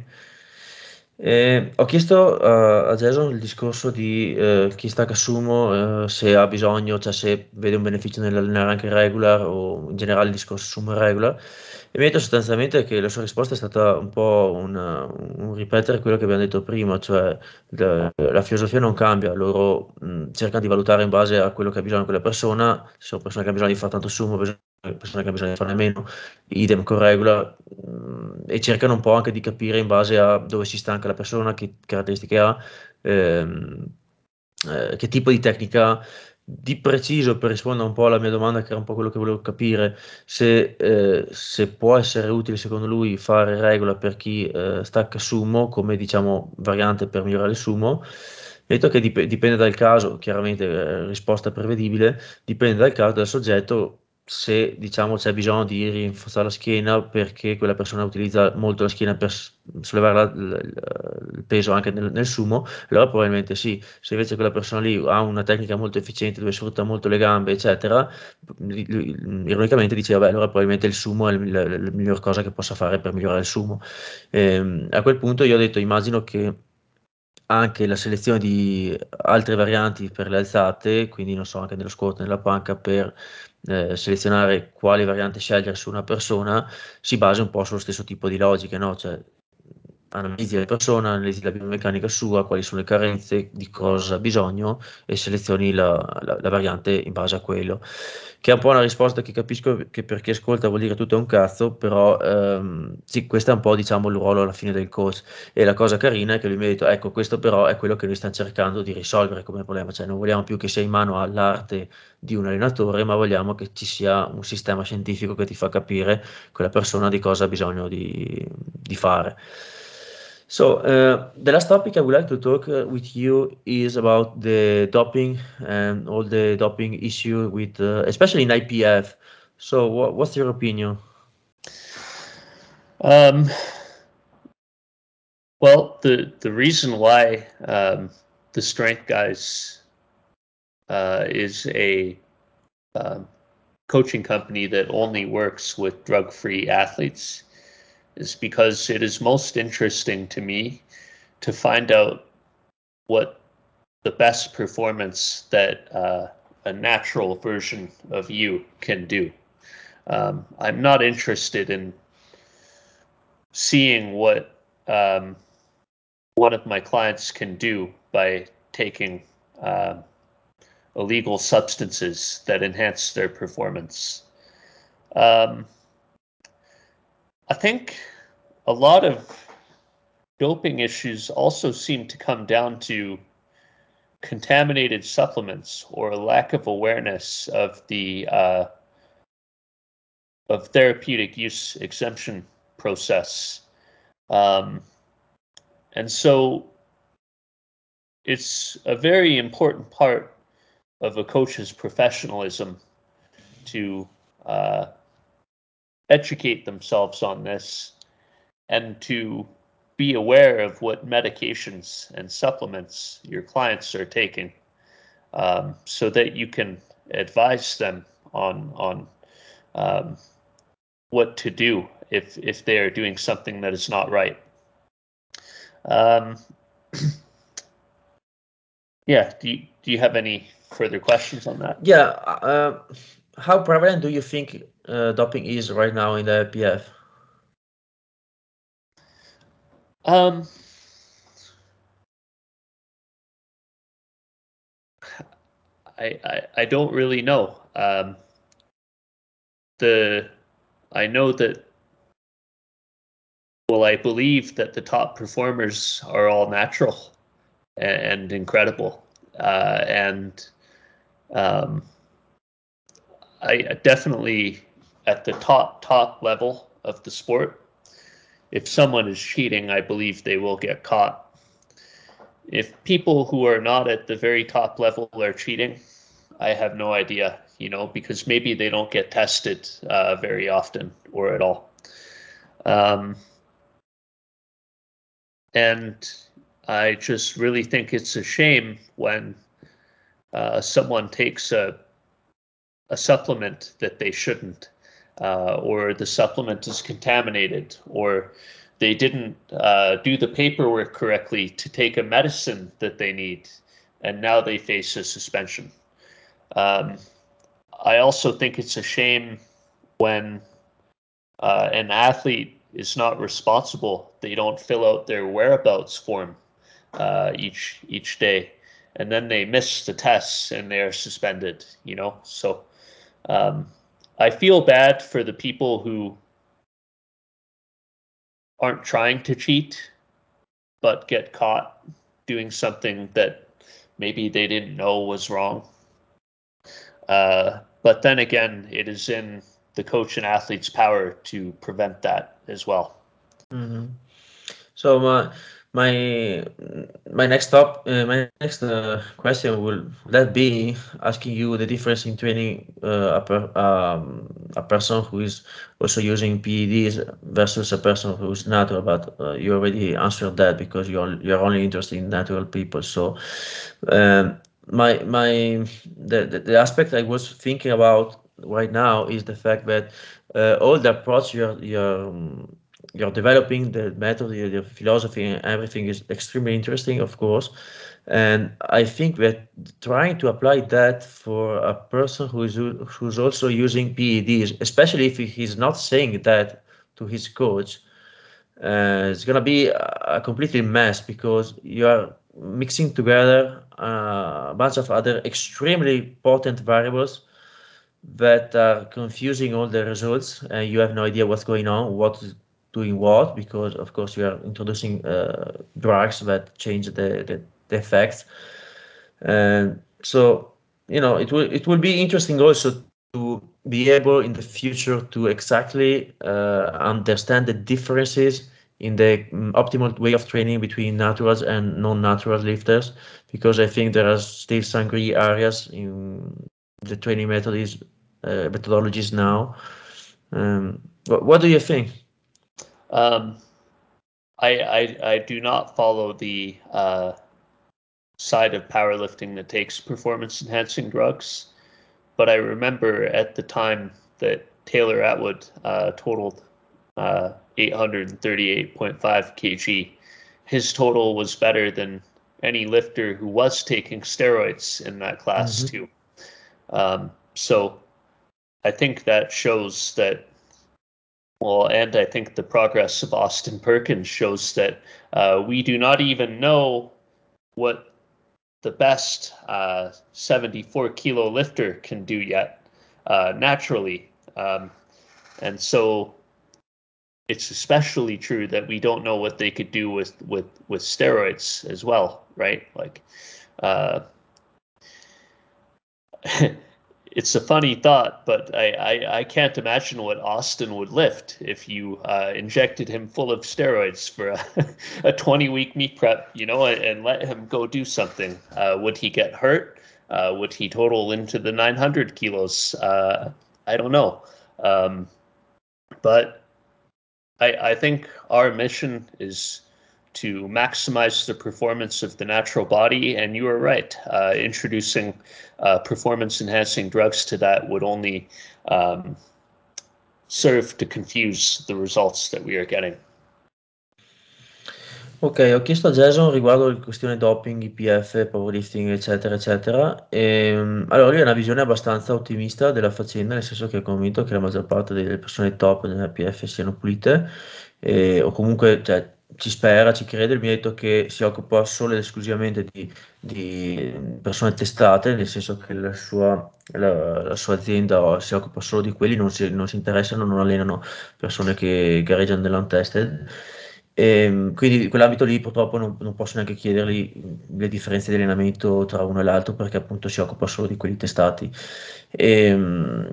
Ho chiesto a Jason il discorso di chi stacca sumo, se ha bisogno, cioè se vede un beneficio nell'allenare anche regular o in generale il discorso sumo e regular. E mi ha detto sostanzialmente che la sua risposta è stata un po' un ripetere quello che abbiamo detto prima, cioè la filosofia non cambia, loro cercano di valutare in base a quello che ha bisogno quella persona, se sono persone che hanno bisogno di fare tanto sumo, persone che hanno bisogno di farne meno, idem con regular, e cercano un po' anche di capire in base a dove si stanca la persona, che caratteristiche ha, ehm, che tipo di tecnica ha. Di preciso, per rispondere un po' alla mia domanda, che era un po' quello che volevo capire, se può essere utile secondo lui fare regola per chi stacca sumo come diciamo variante per migliorare il sumo. Mi ha detto che dipende dal caso, chiaramente risposta prevedibile, dipende dal caso, dal soggetto, se diciamo c'è bisogno di rinforzare la schiena perché quella persona utilizza molto la schiena per sollevare il peso anche nel sumo, allora probabilmente sì. Se invece quella persona lì ha una tecnica molto efficiente dove sfrutta molto le gambe, eccetera, ironicamente dice, vabbè, allora probabilmente il sumo è la miglior cosa che possa fare per migliorare il sumo. A quel punto io ho detto, immagino che anche la selezione di altre varianti per le alzate, quindi non so, anche nello squat, nella panca, per selezionare quali variante scegliere su una persona, si basa un po' sullo stesso tipo di logiche, no? Cioè, analizzi la persona, analizzi la biomeccanica sua, quali sono le carenze, di cosa ha bisogno e selezioni la variante in base a quello. Che è un po' una risposta che capisco che per chi ascolta vuol dire tutto è un cazzo, però sì, questo è un po' diciamo il ruolo alla fine del coach. E la cosa carina è che lui mi ha detto, ecco, questo però è quello che noi stiamo cercando di risolvere come problema, cioè non vogliamo più che sia in mano all'arte di un allenatore, ma vogliamo che ci sia un sistema scientifico che ti fa capire quella persona di cosa ha bisogno di fare. So, the last topic I would like to talk with you is about the doping and all the doping issue with, especially in IPF. So, what's your opinion? Um, well, the reason why the Strength Guys is a coaching company that only works with drug-free athletes is because it is most interesting to me to find out what the best performance that a natural version of you can do. I'm not interested in seeing what one of my clients can do by taking illegal substances that enhance their performance. Um, I think a lot of doping issues also seem to come down to contaminated supplements or a lack of awareness of the of therapeutic use exemption process. Um, and so it's a very important part of a coach's professionalism to uh, educate themselves on this and to be aware of what medications and supplements your clients are taking, so that you can advise them on um, what to do if they are doing something that is not right. Um, yeah. Do you have any further questions on that? Yeah. How prevalent do you think doping is right now in the PF? Um, I don't really know. The I know that well, I believe that the top performers are all natural and incredible, and um, I definitely at the top level of the sport. If someone is cheating, I believe they will get caught. If people who are not at the very top level are cheating, I have no idea, because maybe they don't get tested very often or at all. Um, and I just really think it's a shame when someone takes a supplement that they shouldn't, or the supplement is contaminated, or they didn't do the paperwork correctly to take a medicine that they need, and now they face a suspension. Um, I also think it's a shame when an athlete is not responsible. They don't fill out their whereabouts form each day, and then they miss the tests and they're suspended. So um, I feel bad for the people who aren't trying to cheat but get caught doing something that maybe they didn't know was wrong. But then again, it is in the coach and athlete's power to prevent that as well. Mm-hmm. So my next question will that be asking you the difference in training a person who is also using PEDs versus a person who is natural. But you already answered that because you're only interested in natural people. So um, my the aspect I was thinking about right now is the fact that all the approach you're developing, the method, the philosophy, and everything is extremely interesting, of course. And I think that trying to apply that for a person who's also using PEDs, especially if he's not saying that to his coach, it's gonna be a completely mess because you are mixing together a bunch of other extremely potent variables that are confusing all the results, and you have no idea what's going on, what is doing what, because of course you are introducing drugs that change the effects. And so, it will be interesting also to be able in the future to exactly understand the differences in the optimal way of training between naturals and non-natural lifters, because I think there are still some gray areas in the training methodologies now. What do you think? Um, I do not follow the side of powerlifting that takes performance enhancing drugs, but I remember at the time that Taylor Atwood totaled 838.5 kg. His total was better than any lifter who was taking steroids in that class Hmm. too. So I think that shows that. Well, and I think the progress of Austin Perkins shows that we do not even know what the best 74 kilo lifter can do yet naturally. And so it's especially true that we don't know what they could do with steroids as well, right? Like, it's a funny thought, but I can't imagine what Austin would lift if you injected him full of steroids for a 20-week meet prep, and let him go do something. Would he get hurt? Would he total into the 900 kilos? I don't know. But I think our mission is to maximize the performance of the natural body, and you are right. Introducing performance-enhancing drugs to that would only serve to confuse the results that we are getting. Ok, ho chiesto a Jason riguardo la questione doping, IPF, powerlifting, eccetera, eccetera. Allora, lui ha una visione abbastanza ottimista della faccenda, nel senso che è convinto che la maggior parte delle persone top nell'IPF siano pulite, o comunque, cioè, ci spera, ci crede. Lui mi ha detto che si occupa solo ed esclusivamente di persone testate, nel senso che la sua azienda si occupa solo di quelli, non si interessano, non allenano persone che gareggiano nell'untested. Quindi in quell'ambito lì purtroppo non posso neanche chiedergli le differenze di allenamento tra uno e l'altro perché appunto si occupa solo di quelli testati. Ehm,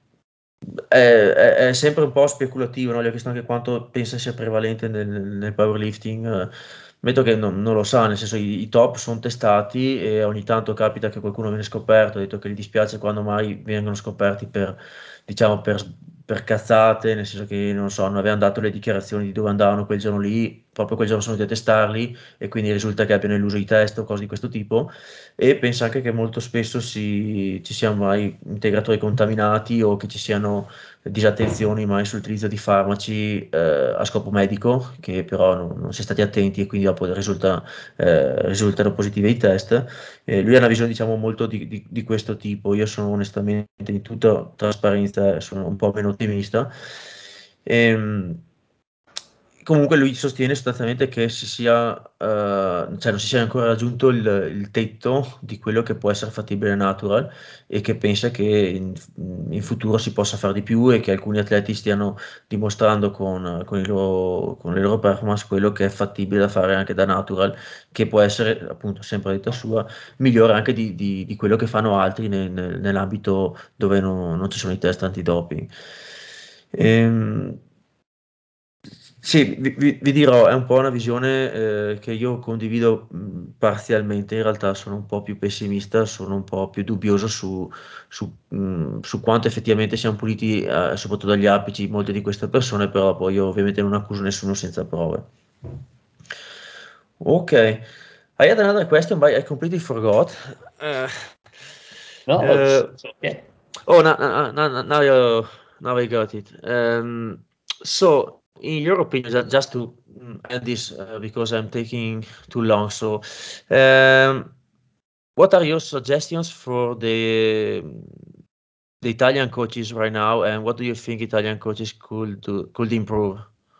è sempre un po' speculativo, no? Gli ho chiesto anche quanto pensa sia prevalente nel powerlifting. Metto che non lo sa, nel senso i top sono testati e ogni tanto capita che qualcuno viene scoperto, ha detto che gli dispiace quando mai vengono scoperti diciamo, per cazzate, nel senso che non so, non avevano dato le dichiarazioni di dove andavano quel giorno lì, proprio quel giorno sono venuti a testarli e quindi risulta che abbiano illuso i test o cose di questo tipo. E pensa anche che molto spesso ci siano mai integratori contaminati o che ci siano disattenzioni mai sull'utilizzo di farmaci a scopo medico, che però non si è stati attenti e quindi dopo risultano positive i test. Lui ha una visione, diciamo, molto di questo tipo. Io sono onestamente, in tutta trasparenza, sono un po' meno ottimista. Ehm, Comunque lui sostiene sostanzialmente che cioè non si sia ancora raggiunto il tetto di quello che può essere fattibile natural e che pensa che in futuro si possa fare di più e che alcuni atleti stiano dimostrando con le loro performance quello che è fattibile da fare anche da natural, che può essere, appunto, sempre a detta sua, migliore anche di quello che fanno altri nell'ambito dove non ci sono i test antidoping. Ehm, sì, vi dirò, è un po' una visione che io condivido parzialmente, in realtà sono un po' più pessimista, sono un po' più dubbioso su quanto effettivamente siano puliti, soprattutto dagli apici, molte di queste persone, però poi io ovviamente non accuso nessuno senza prove. Ok, I had another question, but I completely forgot. Uh, No, uh, it's okay. oh, now I got it. So, in your opinion, just to end this, because I'm taking too long. So, um, what are your suggestions for the Italian coaches right now, and what do you think Italian coaches could improve?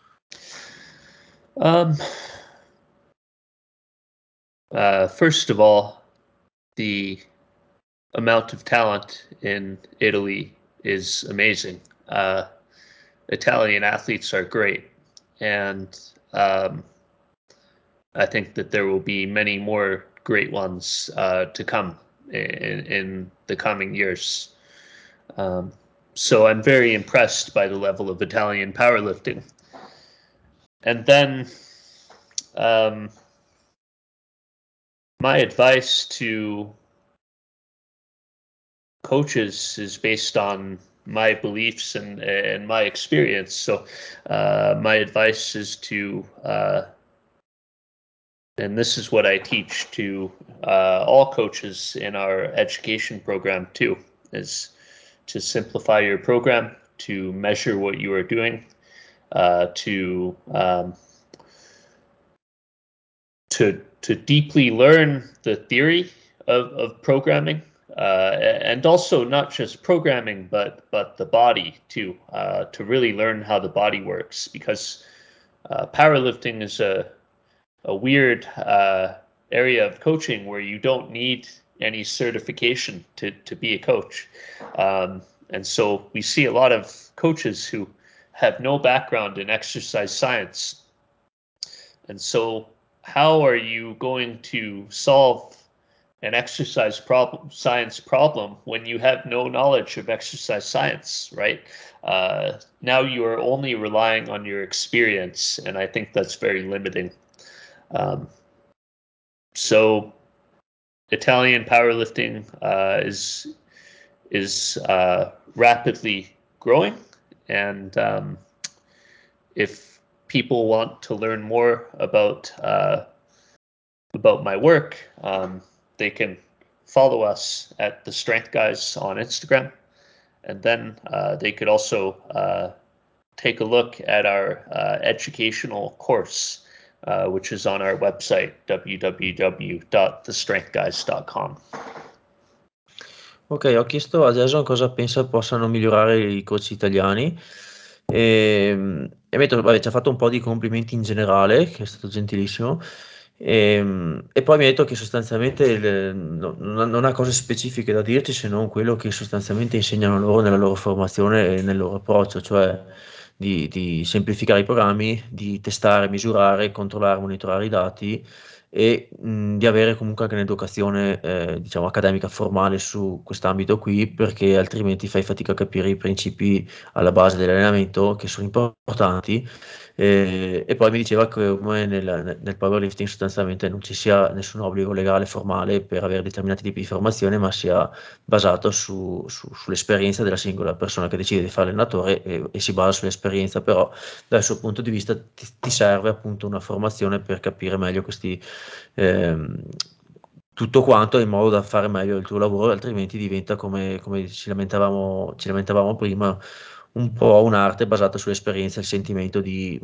Um, First of all, the amount of talent in Italy is amazing. Italian athletes are great, and I think that there will be many more great ones to come in the coming years. Um, so I'm very impressed by the level of Italian powerlifting. And then um, my advice to coaches is based on my beliefs and my experience. So my advice is to, and this is what I teach to all coaches in our education program too, is to simplify your program, to measure what you are doing, to deeply learn the theory of programming, and also not just programming, but the body too, to really learn how the body works. Because powerlifting is a weird area of coaching where you don't need any certification to be a coach. And so we see a lot of coaches who have no background in exercise science. And so how are you going to solve an exercise science problem when you have no knowledge of exercise science, right? Now you are only relying on your experience, and I think that's very limiting. So Italian powerlifting is rapidly growing, and if people want to learn more about my work, they can follow us at The Strength Guys on Instagram, and then they could also take a look at our educational course, which is on our website, www.thestrengthguys.com. Ok, ho chiesto a Jason cosa pensa possano migliorare i coach italiani e mi ha detto, vabbè, ci ha fatto un po' di complimenti in generale, che è stato gentilissimo, e poi mi ha detto che sostanzialmente non ha cose specifiche da dirci se non quello che sostanzialmente insegnano loro nella loro formazione e nel loro approccio, cioè di semplificare i programmi, di testare, misurare, controllare, monitorare i dati e di avere comunque anche un'educazione, diciamo, accademica formale su quest'ambito qui, perché altrimenti fai fatica a capire i principi alla base dell'allenamento che sono importanti. E poi mi diceva che come nel powerlifting sostanzialmente non ci sia nessun obbligo legale formale per avere determinati tipi di formazione, ma sia basato sull'esperienza della singola persona che decide di fare allenatore e si basa sull'esperienza, però dal suo punto di vista ti serve appunto una formazione per capire meglio ehm, tutto quanto in modo da fare meglio il tuo lavoro, altrimenti diventa come ci lamentavamo prima, un po' un'arte basata sull'esperienza e il sentimento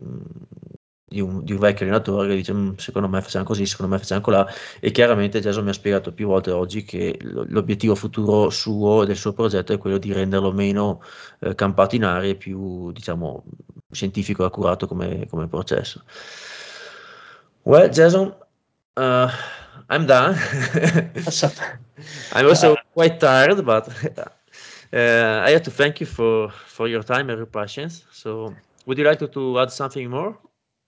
di un vecchio allenatore che dice secondo me facciamo così, secondo me facciamo colà, e chiaramente Jason mi ha spiegato più volte oggi che l'obiettivo futuro suo e del suo progetto è quello di renderlo meno campato in aria e più, diciamo, scientifico e accurato come processo. Well, Jason, uh, I'm done. Awesome. I'm also quite tired, but I have to thank you for your time and your patience. So, would you like to add something more?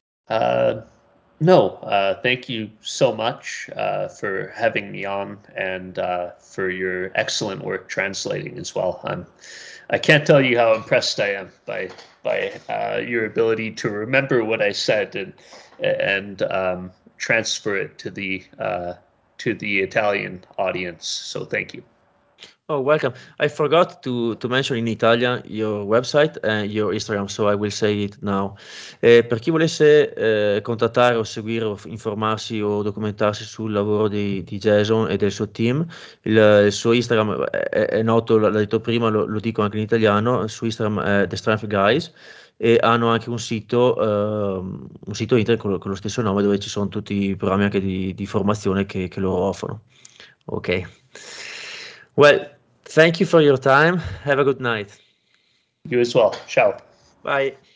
No, thank you so much for having me on and for your excellent work translating as well. I can't tell you how impressed I am by your ability to remember what I said and transfer it to the Italian audience. So thank you. Oh, welcome. I forgot to mention in Italian your website and your Instagram, so I will say it now. Per chi volesse contattare o seguire o informarsi o documentarsi sul lavoro di Jason e del suo team, il suo Instagram è noto, l'ho detto prima, lo dico anche in italiano, il suo Instagram è The Strength Guys e hanno anche un sito internet con lo stesso nome dove ci sono tutti i programmi anche di formazione che loro offrono. Ok. Well, thank you for your time. Have a good night. You as well. Ciao. Bye.